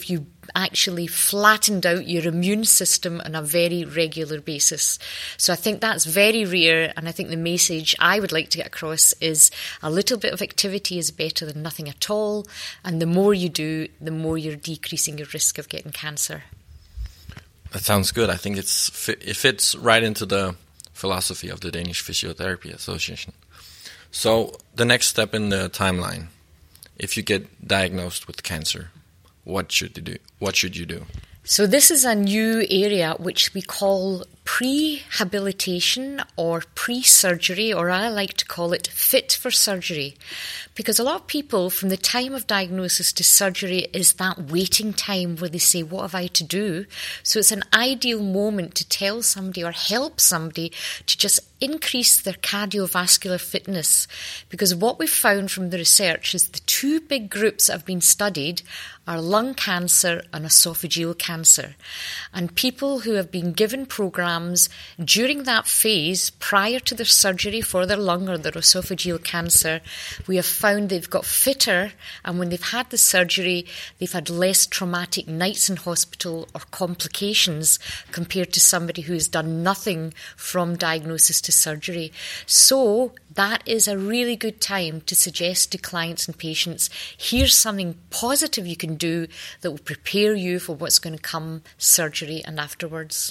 actually flattened out your immune system on a very regular basis. So I think that's very rare, and I think the message I would like to get across is a little bit of activity is better than nothing at all, and the more you do, the more you're decreasing your risk of getting cancer. That sounds good. I think it fits right into the philosophy of the Danish Physiotherapy Association. So the next step in the timeline, if you get diagnosed with cancer, what should you do? What should you do? So this is a new area which we call prehabilitation or pre-surgery, or I like to call it fit for surgery. Because a lot of people, from the time of diagnosis to surgery, is that waiting time where they say, what have I to do? So it's an ideal moment to tell somebody or help somebody to just increase their cardiovascular fitness. Because what we've found from the research is the two big groups that have been studied are lung cancer and esophageal cancer. And people who have been given programs during that phase prior to their surgery for their lung or their esophageal cancer, we have found they've got fitter, and when they've had the surgery, they've had less traumatic nights in hospital or complications compared to somebody who has done nothing from diagnosis to surgery. So that is a really good time to suggest to clients and patients, here's something positive you can do that will prepare you for what's going to come surgery and afterwards.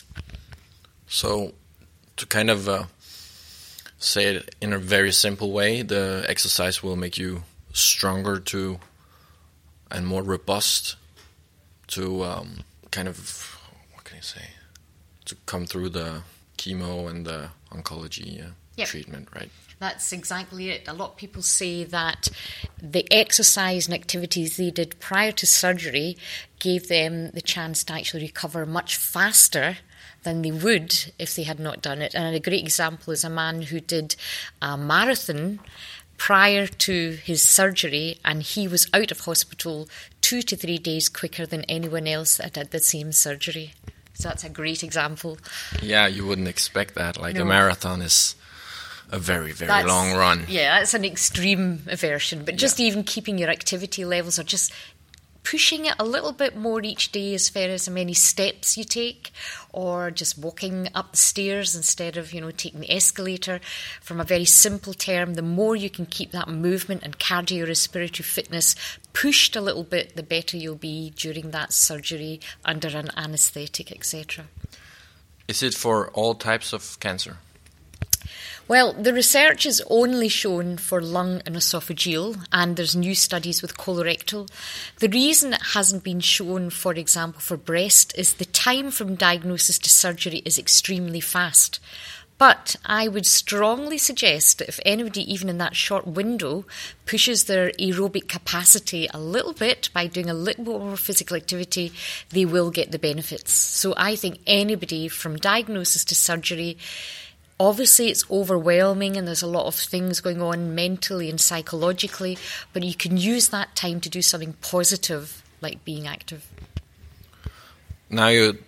So to kind of say it in a very simple way, the exercise will make you stronger and more robust to kind of, what can I say, to come through the chemo and the oncology treatment, right? That's exactly it. A lot of people say that the exercise and activities they did prior to surgery gave them the chance to actually recover much faster than they would if they had not done it. And a great example is a man who did a marathon prior to his surgery, and he was out of hospital 2 to 3 days quicker than anyone else that did the same surgery. So that's a great example. Yeah, you wouldn't expect that. Like, no. A marathon is a very, very long run. Yeah, that's an extreme version. But just even keeping your activity levels, or just pushing it a little bit more each day as far as how many steps you take, or just walking up the stairs instead of, taking the escalator. From a very simple term, the more you can keep that movement and cardiorespiratory fitness pushed a little bit, the better you'll be during that surgery under an anaesthetic, etc. Is it for all types of cancer? Well, the research is only shown for lung and esophageal, and there's new studies with colorectal. The reason it hasn't been shown, for example, for breast is the time from diagnosis to surgery is extremely fast. But I would strongly suggest that if anybody, even in that short window, pushes their aerobic capacity a little bit by doing a little bit more physical activity, they will get the benefits. So I think anybody from diagnosis to surgery, obviously it's overwhelming and there's a lot of things going on mentally and psychologically, but you can use that time to do something positive, like being active. Now you're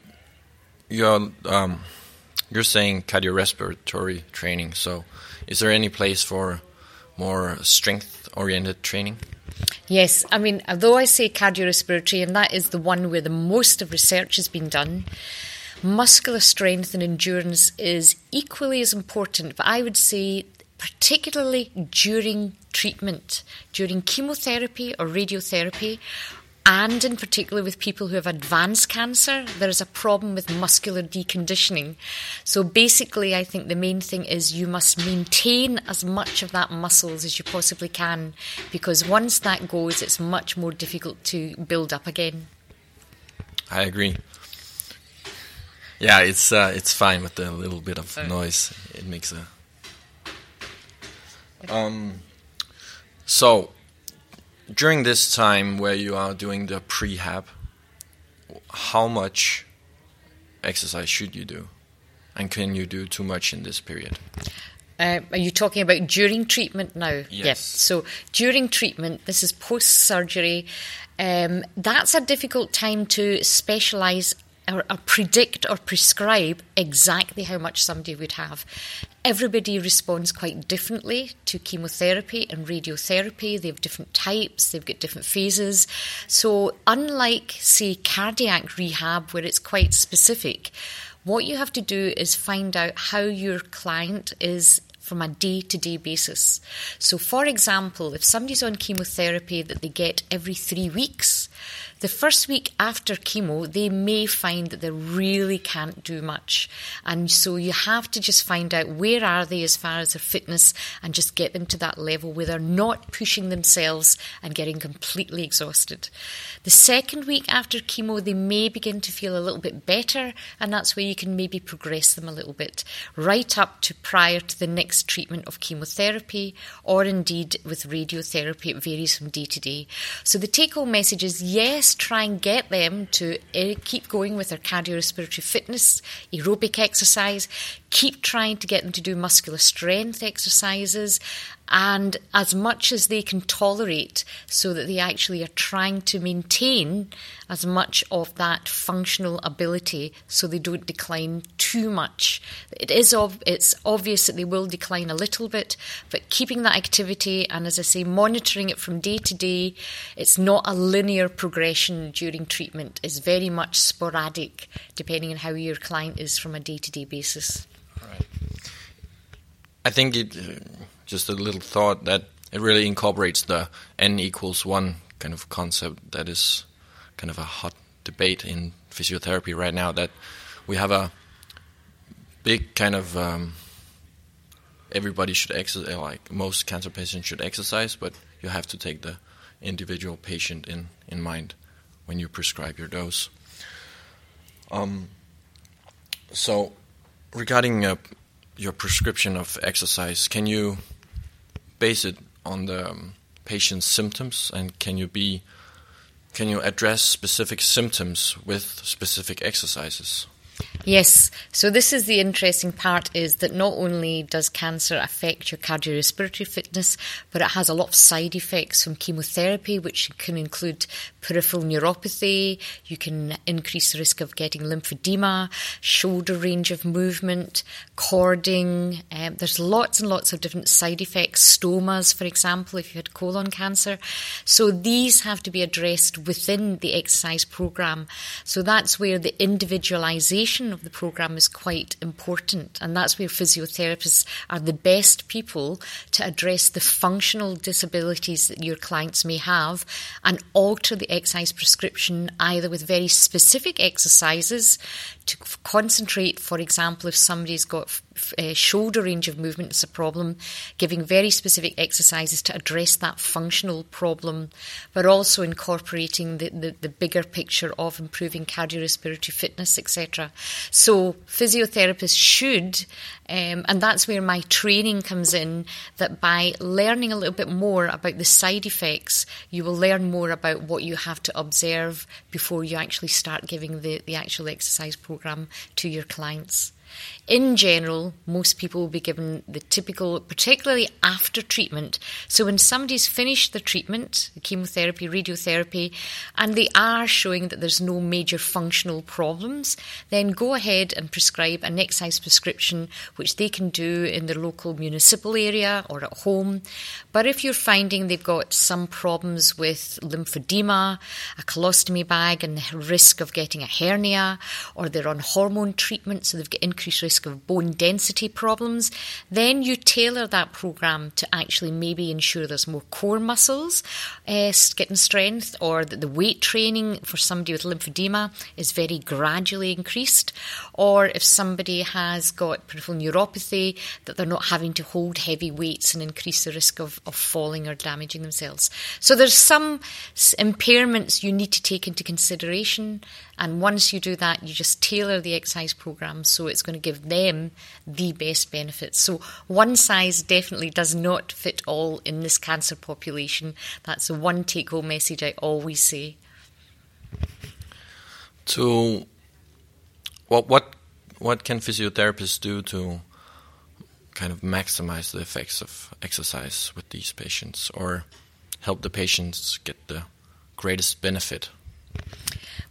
saying cardiorespiratory training, so is there any place for more strength-oriented training? Yes, I mean, although I say cardiorespiratory, and that is the one where the most of research has been done, muscular strength and endurance is equally as important, but I would say particularly during treatment, during chemotherapy or radiotherapy, and in particular with people who have advanced cancer, there is a problem with muscular deconditioning. So basically, I think the main thing is you must maintain as much of that muscles as you possibly can, because once that goes, it's much more difficult to build up again. I agree. Yeah, it's fine with the little bit of noise. It makes a... So, during this time where you are doing the prehab, how much exercise should you do? And can you do too much in this period? Are you talking about during treatment now? Yes. Yep. So during treatment, this is post-surgery. That's a difficult time to specialise or predict or prescribe exactly how much somebody would have. Everybody responds quite differently to chemotherapy and radiotherapy. They have different types, they've got different phases. So unlike, say, cardiac rehab, where it's quite specific, what you have to do is find out how your client is from a day-to-day basis. So, for example, if somebody's on chemotherapy that they get every 3 weeks, the first week after chemo, they may find that they really can't do much. And so you have to just find out where are they as far as their fitness and just get them to that level where they're not pushing themselves and getting completely exhausted. The second week after chemo, they may begin to feel a little bit better, and that's where you can maybe progress them a little bit, right up to prior to the next treatment of chemotherapy, or indeed with radiotherapy. It varies from day to day. So the take-home message is, yes, try and get them to keep going with their cardiorespiratory fitness, aerobic exercise, keep trying to get them to do muscular strength exercises, and as much as they can tolerate, so that they actually are trying to maintain as much of that functional ability so they don't decline too much. It's obvious that they will decline a little bit, but keeping that activity and, as I say, monitoring it from day to day. It's not a linear progression during treatment. It's very much sporadic depending on how your client is from a day-to-day basis. Right. I think just a little thought that it really incorporates the N=1 kind of concept that is kind of a hot debate in physiotherapy right now, that we have a big kind of everybody should exercise, like most cancer patients should exercise, but you have to take the individual patient in mind when you prescribe your dose. So regarding your prescription of exercise, can you base it on the patient's symptoms, and can you address specific symptoms with specific exercises? Yes, so this is the interesting part, is that not only does cancer affect your cardiorespiratory fitness, but it has a lot of side effects from chemotherapy, which can include peripheral neuropathy. You can increase the risk of getting lymphedema, shoulder range of movement, cording. There's lots and lots of different side effects, stomas, for example, if you had colon cancer. So these have to be addressed within the exercise program. So that's where the individualization of the program is quite important, and that's where physiotherapists are the best people to address the functional disabilities that your clients may have and alter the exercise prescription either with very specific exercises to concentrate, for example, if somebody's got shoulder range of movement is a problem, giving very specific exercises to address that functional problem, but also incorporating the bigger picture of improving cardiorespiratory fitness, etc. So physiotherapists should, and that's where my training comes in, that by learning a little bit more about the side effects, you will learn more about what you have to observe before you actually start giving the actual exercise program to your clients. In general, most people will be given the typical, particularly after treatment. So when somebody's finished the treatment, the chemotherapy, radiotherapy, and they are showing that there's no major functional problems, then go ahead and prescribe an exercise prescription, which they can do in their local municipal area or at home. But if you're finding they've got some problems with lymphedema, a colostomy bag, and the risk of getting a hernia, or they're on hormone treatment, so they've got increased risk of bone density problems, then you tailor that program to actually maybe ensure there's more core muscles getting strength, or that the weight training for somebody with lymphedema is very gradually increased, or if somebody has got peripheral neuropathy, that they're not having to hold heavy weights and increase the risk of falling or damaging themselves. So there's some impairments you need to take into consideration, and once you do that, you just tailor the exercise program so it's going to give them the best benefits. So one size definitely does not fit all in this cancer population. That's the one take-home message I always say. So what can physiotherapists do to kind of maximize the effects of exercise with these patients, or help the patients get the greatest benefit?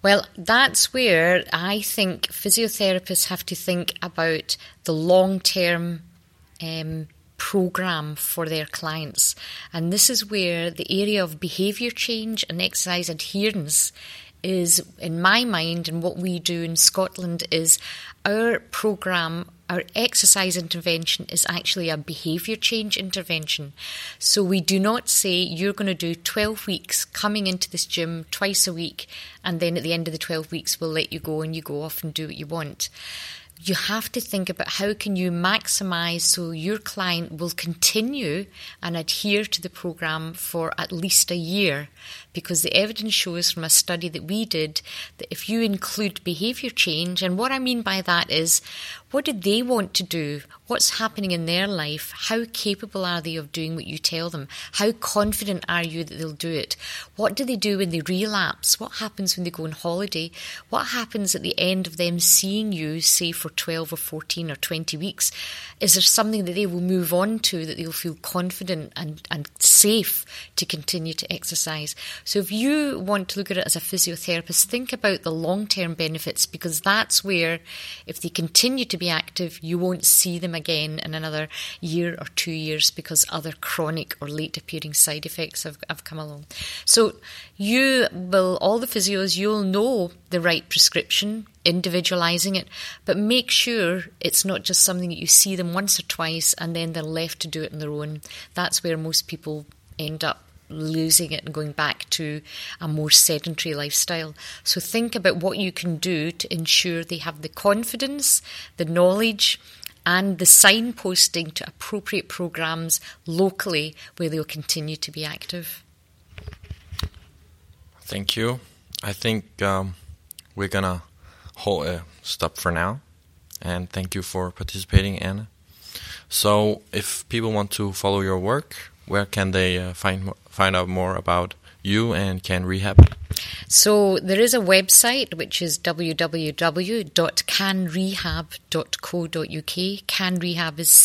Well, that's where I think physiotherapists have to think about the long-term program for their clients. And this is where the area of behaviour change and exercise adherence is, in my mind, and what we do in Scotland is our programme, our exercise intervention is actually a behaviour change intervention. So we do not say you're going to do 12 weeks coming into this gym twice a week, and then at the end of the 12 weeks we'll let you go and you go off and do what you want. You have to think about how can you maximise so your client will continue and adhere to the programme for at least a year, because the evidence shows from a study that we did that if you include behaviour change, and what I mean by that is what do they want to do? What's happening in their life? How capable are they of doing what you tell them? How confident are you that they'll do it? What do they do when they relapse? What happens when they go on holiday? What happens at the end of them seeing you, say, for 12 or 14 or 20 weeks? Is there something that they will move on to that they'll feel confident and safe to continue to exercise? So if you want to look at it as a physiotherapist, think about the long-term benefits, because that's where, if they continue to be active, you won't see them again in another year or 2 years because other chronic or late appearing side effects have come along. So you will, all the physios, you'll know the right prescription, individualising it, but make sure it's not just something that you see them once or twice and then they're left to do it on their own. That's where most people end up losing it and going back to a more sedentary lifestyle. So think about what you can do to ensure they have the confidence, the knowledge and the signposting to appropriate programmes locally where they'll continue to be active. Thank you. I think we're going to stop for now. And thank you for participating, Anna. So if people want to follow your work, where can they find out more about you and Can Rehab? So there is a website which is www.canrehab.co.uk. Can Rehab is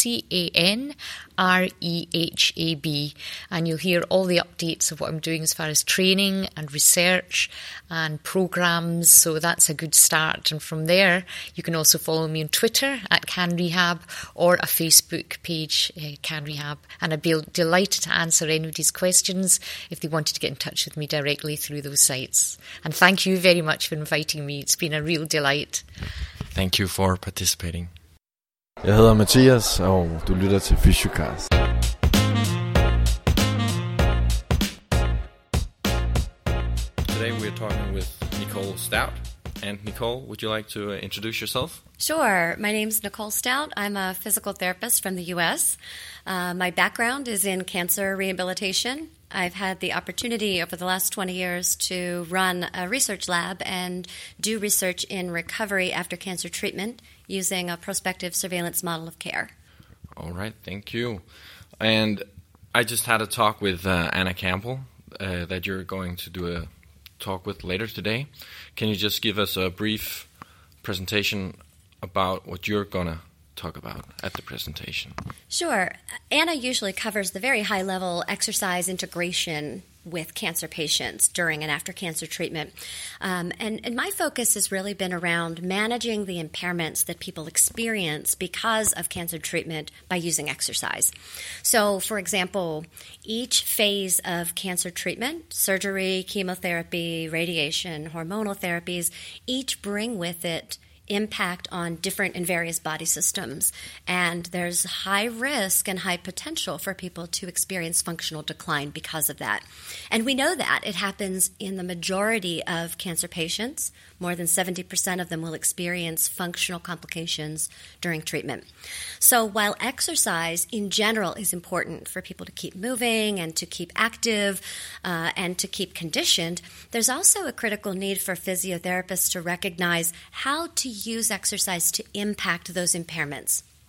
CANREHAB, and you'll hear all the updates of what I'm doing as far as training and research and programmes, so that's a good start. And from there you can also follow me on Twitter at Can Rehab or a Facebook page, Can Rehab, and I'd be delighted to answer anybody's questions if they wanted to get in touch with me directly through those sites. And thank you very much for inviting me. It's been a real delight. Thank you for participating. Jeg hedder Mathias, og du lytter til Fysiocast. Today we're talking with Nicole Stout. And Nicole, would you like to introduce yourself? Sure. My name's Nicole Stout. I'm a physical therapist from the U.S. My background is in cancer rehabilitation. I've had the opportunity over the last 20 years to run a research lab and do research in recovery after cancer treatment using a prospective surveillance model of care. All right, thank you. And I just had a talk with Anna Campbell that you're going to do a talk with later today. Can you just give us a brief presentation about what you're going to talk about at the presentation? Sure. Anna usually covers the very high-level exercise integration with cancer patients during and after cancer treatment. And my focus has really been around managing the impairments that people experience because of cancer treatment by using exercise. So, for example, each phase of cancer treatment, surgery, chemotherapy, radiation, hormonal therapies, each bring with it impact on different and various body systems. And there's high risk and high potential for people to experience functional decline because of that. And we know that it happens in the majority of cancer patients. More than 70% of them will experience functional complications during treatment. So while exercise in general is important for people to keep moving and to keep active and to keep conditioned, there's also a critical need for physiotherapists to recognize how to use exercise to impact those impairments.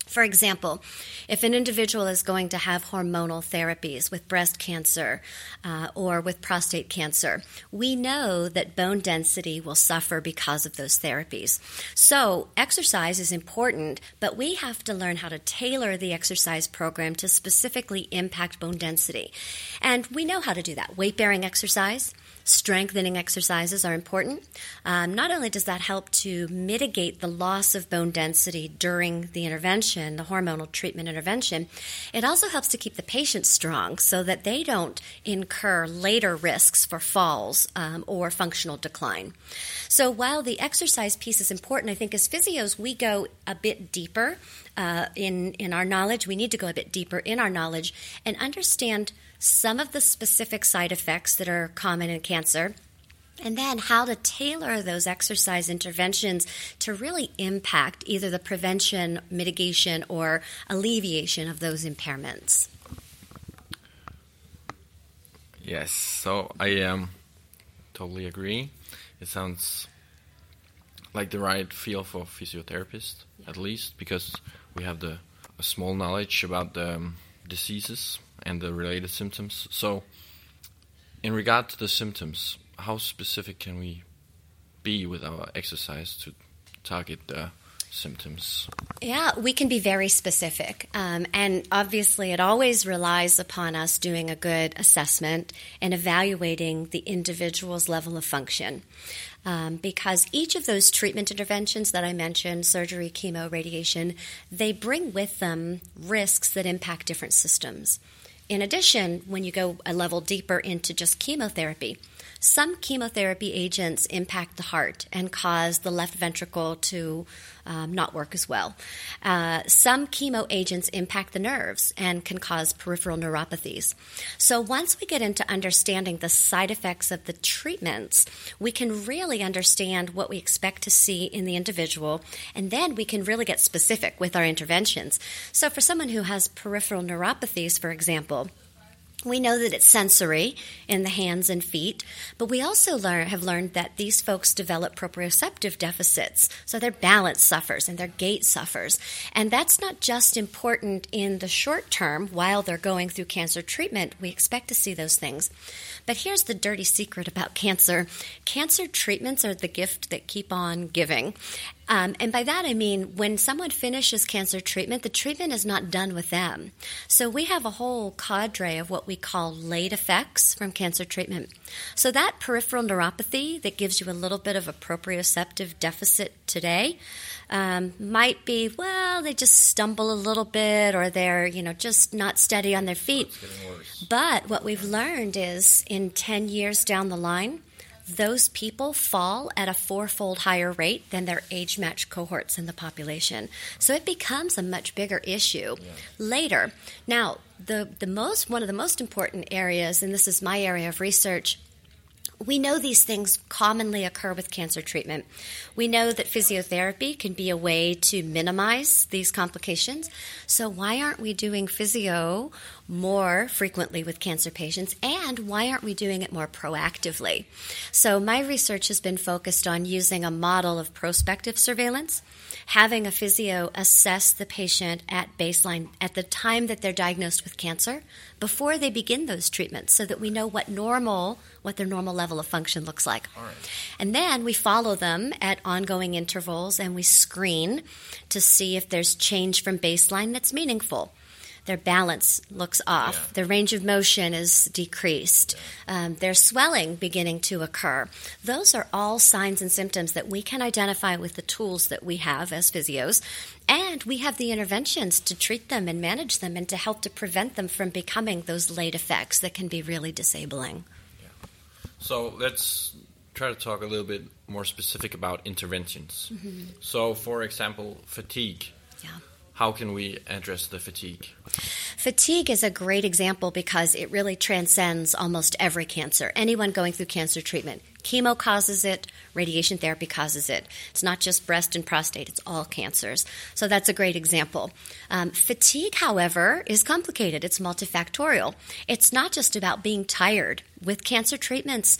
For example, if an individual is going to have hormonal therapies with breast cancer or with prostate cancer, we know that bone density will suffer because of those therapies. So exercise is important, but we have to learn how to tailor the exercise program to specifically impact bone density. And we know how to do that. Weight-bearing exercise, strengthening exercises are important. Not only does that help to mitigate the loss of bone density during the intervention, the hormonal treatment intervention, it also helps to keep the patient strong so that they don't incur later risks for falls or functional decline. So while the exercise piece is important, I think as physios we go a bit deeper in our knowledge. We need to go a bit deeper in our knowledge and understand some of the specific side effects that are common in cancer, and then how to tailor those exercise interventions to really impact either the prevention, mitigation, or alleviation of those impairments. Yes, so I totally agree. It sounds like the right field for physiotherapists, at least, because we have a small knowledge about the diseases and the related symptoms. So, in regard to the symptoms, how specific can we be with our exercise to target the symptoms? Yeah, we can be very specific. And obviously, it always relies upon us doing a good assessment and evaluating the individual's level of function. Because each of those treatment interventions that I mentioned, surgery, chemo, radiation, they bring with them risks that impact different systems. In addition, when you go a level deeper into just chemotherapy, some chemotherapy agents impact the heart and cause the left ventricle to not work as well. Some chemo agents impact the nerves and can cause peripheral neuropathies. So once we get into understanding the side effects of the treatments, we can really understand what we expect to see in the individual, and then we can really get specific with our interventions. So for someone who has peripheral neuropathies, for example, we know that it's sensory in the hands and feet, but we also have learned that these folks develop proprioceptive deficits, so their balance suffers and their gait suffers. And that's not just important in the short term while they're going through cancer treatment. We expect to see those things. But here's the dirty secret about cancer. Cancer treatments are the gift that keep on giving. And by that I mean when someone finishes cancer treatment, the treatment is not done with them. So we have a whole cadre of what we call late effects from cancer treatment. So that peripheral neuropathy that gives you a little bit of a proprioceptive deficit today might be, well, they just stumble a little bit, or they're, just not steady on their feet. But what we've learned is in 10 years down the line, those people fall at a 4-fold higher rate than their age-matched cohorts in the population. So it becomes a much bigger issue later. Now, one of the most important areas, and this is my area of research, we know these things commonly occur with cancer treatment. We know that physiotherapy can be a way to minimize these complications. So why aren't we doing physio more frequently with cancer patients, and why aren't we doing it more proactively? So my research has been focused on using a model of prospective surveillance, having a physio assess the patient at baseline at the time that they're diagnosed with cancer before they begin those treatments, so that we know what their normal level of function looks like. All right. And then we follow them at ongoing intervals, and we screen to see if there's change from baseline that's meaningful. Their balance looks off. Their range of motion is decreased. There's swelling beginning to occur. Those are all signs and symptoms that we can identify with the tools that we have as physios. And we have the interventions to treat them and manage them and to help to prevent them from becoming those late effects that can be really disabling. Yeah. So let's try to talk a little bit more specific about interventions. Mm-hmm. So, for example, fatigue. Yeah. How can we address the fatigue? Fatigue is a great example because it really transcends almost every cancer. Anyone going through cancer treatment. Chemo causes it, radiation therapy causes it. It's not just breast and prostate, it's all cancers. So that's a great example. Fatigue, however, is complicated. It's multifactorial. It's not just about being tired. With cancer treatments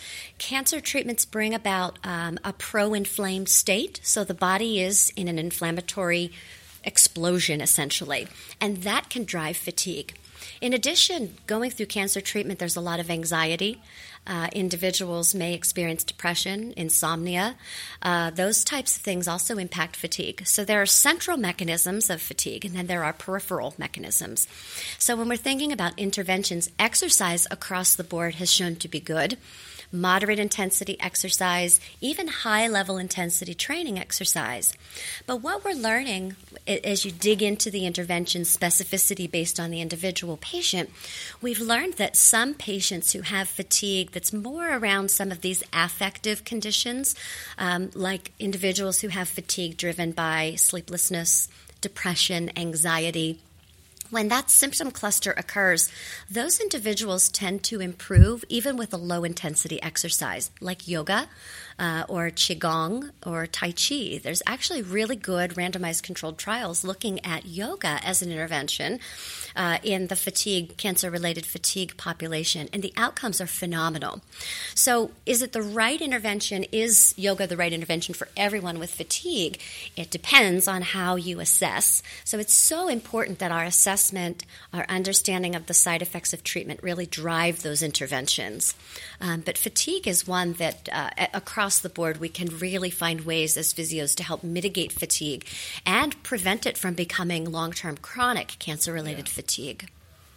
bring about a pro-inflamed state, so the body is in an inflammatory explosion, essentially. And that can drive fatigue. In addition, going through cancer treatment, there's a lot of anxiety. Individuals may experience depression, insomnia. Those types of things also impact fatigue. So there are central mechanisms of fatigue, and then there are peripheral mechanisms. So when we're thinking about interventions, exercise across the board has shown to be good. Moderate intensity exercise, even high level intensity training exercise. But what we're learning as you dig into the intervention specificity based on the individual patient, we've learned that some patients who have fatigue that's more around some of these affective conditions, like individuals who have fatigue driven by sleeplessness, depression, anxiety, when that symptom cluster occurs, those individuals tend to improve even with a low-intensity exercise, like yoga or qigong or tai chi. There's actually really good randomized controlled trials looking at yoga as an intervention in the cancer-related fatigue population, and the outcomes are phenomenal. So is it the right intervention? Is yoga the right intervention for everyone with fatigue? It depends on how you assess. So it's so important that our assessment, our understanding of the side effects of treatment really drive those interventions. But fatigue is one that across the board we can really find ways as physios to help mitigate fatigue and prevent it from becoming long-term chronic cancer-related fatigue.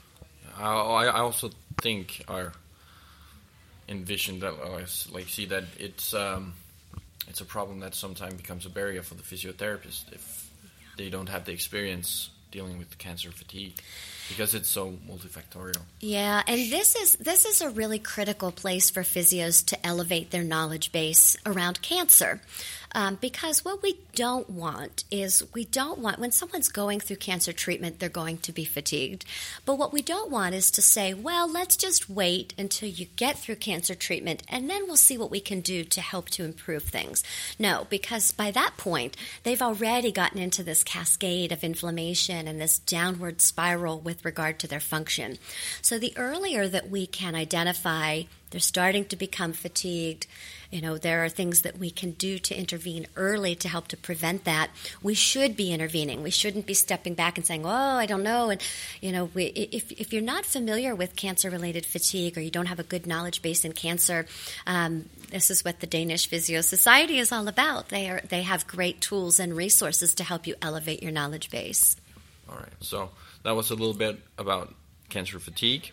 I also think or envision that see that it's a problem that sometimes becomes a barrier for the physiotherapist if they don't have the experience dealing with cancer fatigue, because it's so multifactorial. Yeah, and this is a really critical place for physios to elevate their knowledge base around cancer. Because what we don't want is when someone's going through cancer treatment, they're going to be fatigued. But what we don't want is to say, well, let's just wait until you get through cancer treatment and then we'll see what we can do to help to improve things. No, because by that point, they've already gotten into this cascade of inflammation and this downward spiral with regard to their function. So the earlier that we can identify they're starting to become fatigued, there are things that we can do to intervene early to help to prevent that. We should be intervening. We shouldn't be stepping back and saying, oh, I don't know. And, if you're not familiar with cancer-related fatigue or you don't have a good knowledge base in cancer, this is what the Danish Physio Society is all about. They have great tools and resources to help you elevate your knowledge base. All right. So that was a little bit about cancer fatigue.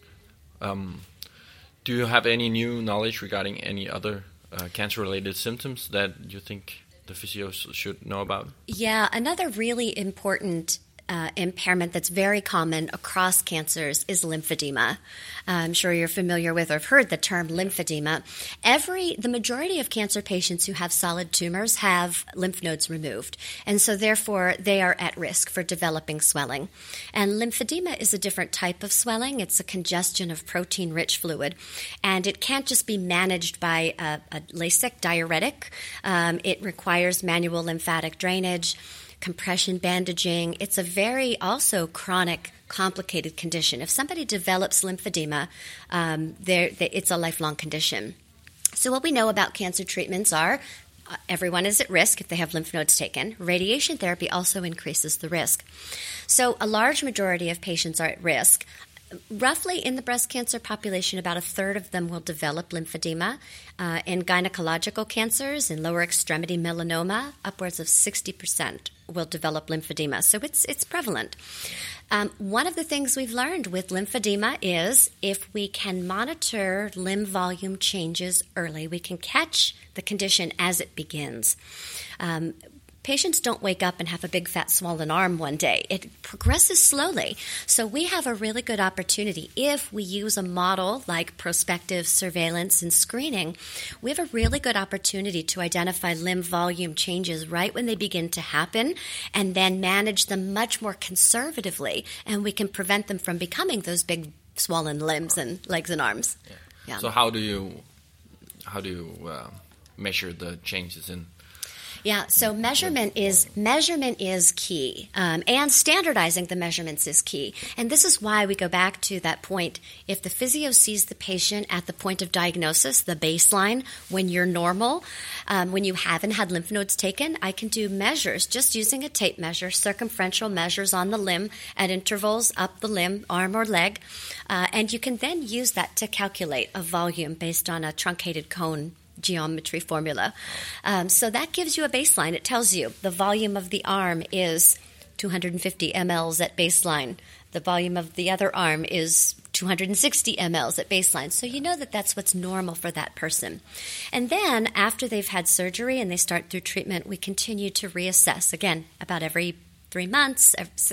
Do you have any new knowledge regarding any other cancer-related symptoms that you think the physios should know about? Yeah, another really important impairment that's very common across cancers is lymphedema. I'm sure you're familiar with or have heard the term lymphedema. The majority of cancer patients who have solid tumors have lymph nodes removed, and so therefore they are at risk for developing swelling. And lymphedema is a different type of swelling. It's a congestion of protein-rich fluid, and it can't just be managed by a Lasix diuretic. It requires manual lymphatic drainage, compression bandaging. It's a very also chronic, complicated condition. If somebody develops lymphedema, it's a lifelong condition. So what we know about cancer treatments are everyone is at risk if they have lymph nodes taken. Radiation therapy also increases the risk. So a large majority of patients are at risk. Roughly in the breast cancer population, about a third of them will develop lymphedema. In gynecological cancers, in lower extremity melanoma, upwards of 60% will develop lymphedema. So it's prevalent. One of the things we've learned with lymphedema is if we can monitor limb volume changes early, we can catch the condition as it begins. Patients don't wake up and have a big fat swollen arm one day. It progresses slowly. So we have a really good opportunity. If we use a model like prospective surveillance and screening, we have a really good opportunity to identify limb volume changes right when they begin to happen and then manage them much more conservatively, and we can prevent them from becoming those big swollen limbs and legs and arms. Yeah. So how do you measure the changes in Yeah, so measurement is key, and standardizing the measurements is key. And this is why we go back to that point. If the physio sees the patient at the point of diagnosis, the baseline, when you're normal, when you haven't had lymph nodes taken, I can do measures just using a tape measure, circumferential measures on the limb at intervals up the limb, arm or leg, and you can then use that to calculate a volume based on a truncated cone geometry formula. So that gives you a baseline. It tells you the volume of the arm is 250 mLs at baseline. The volume of the other arm is 260 mLs at baseline. So you know that that's what's normal for that person. And then after they've had surgery and they start through treatment, we continue to reassess, again, about every 3 months,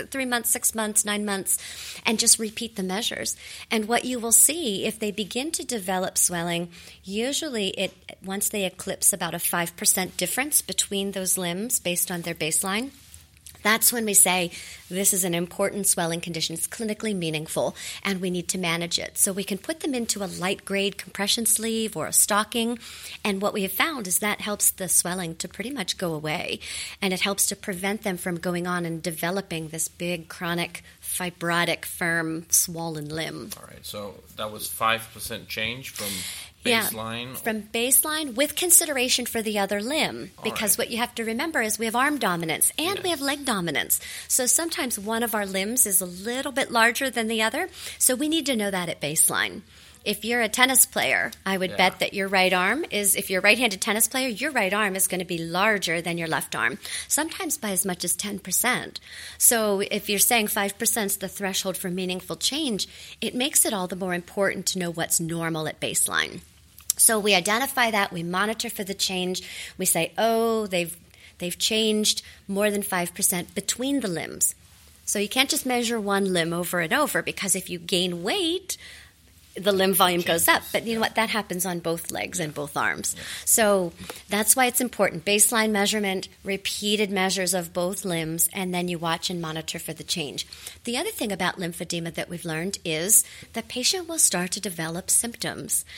6 months, 9 months, and just repeat the measures. And what you will see, if they begin to develop swelling, usually once they eclipse about a 5% difference between those limbs based on their baseline, that's when we say this is an important swelling condition. It's clinically meaningful, and we need to manage it. So we can put them into a light-grade compression sleeve or a stocking, and what we have found is that helps the swelling to pretty much go away, and it helps to prevent them from going on and developing this big, chronic, fibrotic, firm, swollen limb. All right, so that was 5% change from baseline? Yeah, from baseline with consideration for the other limb. Because what you have to remember is we have arm dominance and we have leg dominance. So sometimes one of our limbs is a little bit larger than the other. So we need to know that at baseline. If you're a tennis player, I would bet that your right arm if you're a right-handed tennis player, your right arm is going to be larger than your left arm, sometimes by as much as 10%. So if you're saying 5% is the threshold for meaningful change, it makes it all the more important to know what's normal at baseline. So we identify that, we monitor for the change, we say, oh, they've changed more than 5% between the limbs. So you can't just measure one limb over and over, because if you gain weight, the limb volume goes up. But you know what? That happens on both legs and both arms. Yeah. So that's why it's important. Baseline measurement, repeated measures of both limbs, and then you watch and monitor for the change. The other thing about lymphedema that we've learned is the patient will start to develop symptoms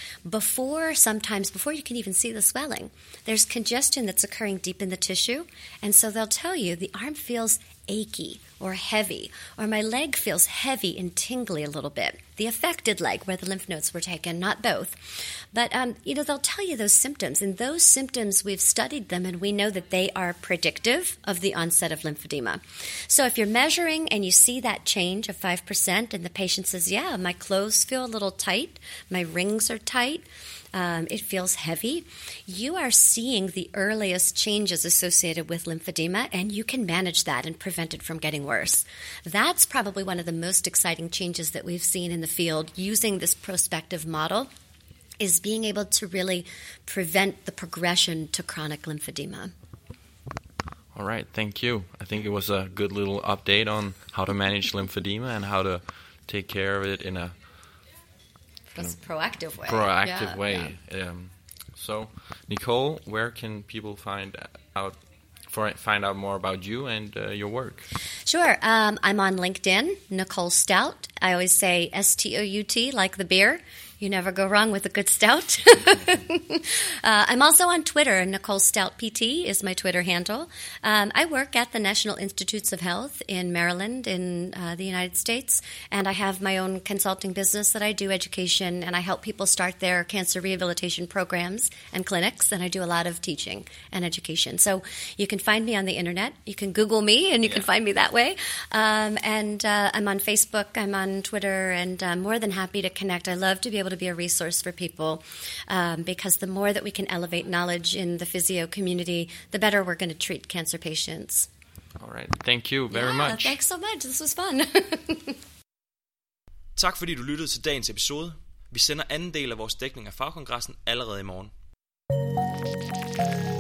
sometimes before you can even see the swelling. There's congestion that's occurring deep in the tissue, and so they'll tell you the arm feels achy or heavy, or my leg feels heavy and tingly a little bit. The affected leg where the lymph nodes were taken, not both. But, they'll tell you those symptoms, and those symptoms, we've studied them, and we know that they are predictive of the onset of lymphedema. So if you're measuring and you see that change of 5%, and the patient says, yeah, my clothes feel a little tight, my rings are tight, it feels heavy, you are seeing the earliest changes associated with lymphedema, and you can manage that and prevent it from getting worse. That's probably one of the most exciting changes that we've seen in the field using this prospective model, is being able to really prevent the progression to chronic lymphedema. All right, thank you. I think it was a good little update on how to manage lymphedema and how to take care of it in a proactive way. So, Nicole, where can people find out more about you and your work? Sure. I'm on LinkedIn, Nicole Stout. I always say STOUT, like the beer. You never go wrong with a good stout. I'm also on Twitter. Nicole Stout PT is my Twitter handle. I work at the National Institutes of Health in Maryland in the United States, and I have my own consulting business that I do education, and I help people start their cancer rehabilitation programs and clinics, and I do a lot of teaching and education. So you can find me on the internet. You can Google me, and you can find me that way. And I'm on Facebook. I'm on Twitter, and I'm more than happy to connect. I love to be able to be a resource for people, because the more that we can elevate knowledge in the physio community, the better we're going to treat cancer patients. All right. Thank you very much. Thanks so much. This was fun. Tak fordi du lyttede til dagens episode. Vi sender anden del af vores dækning af fagkongressen allerede i morgen.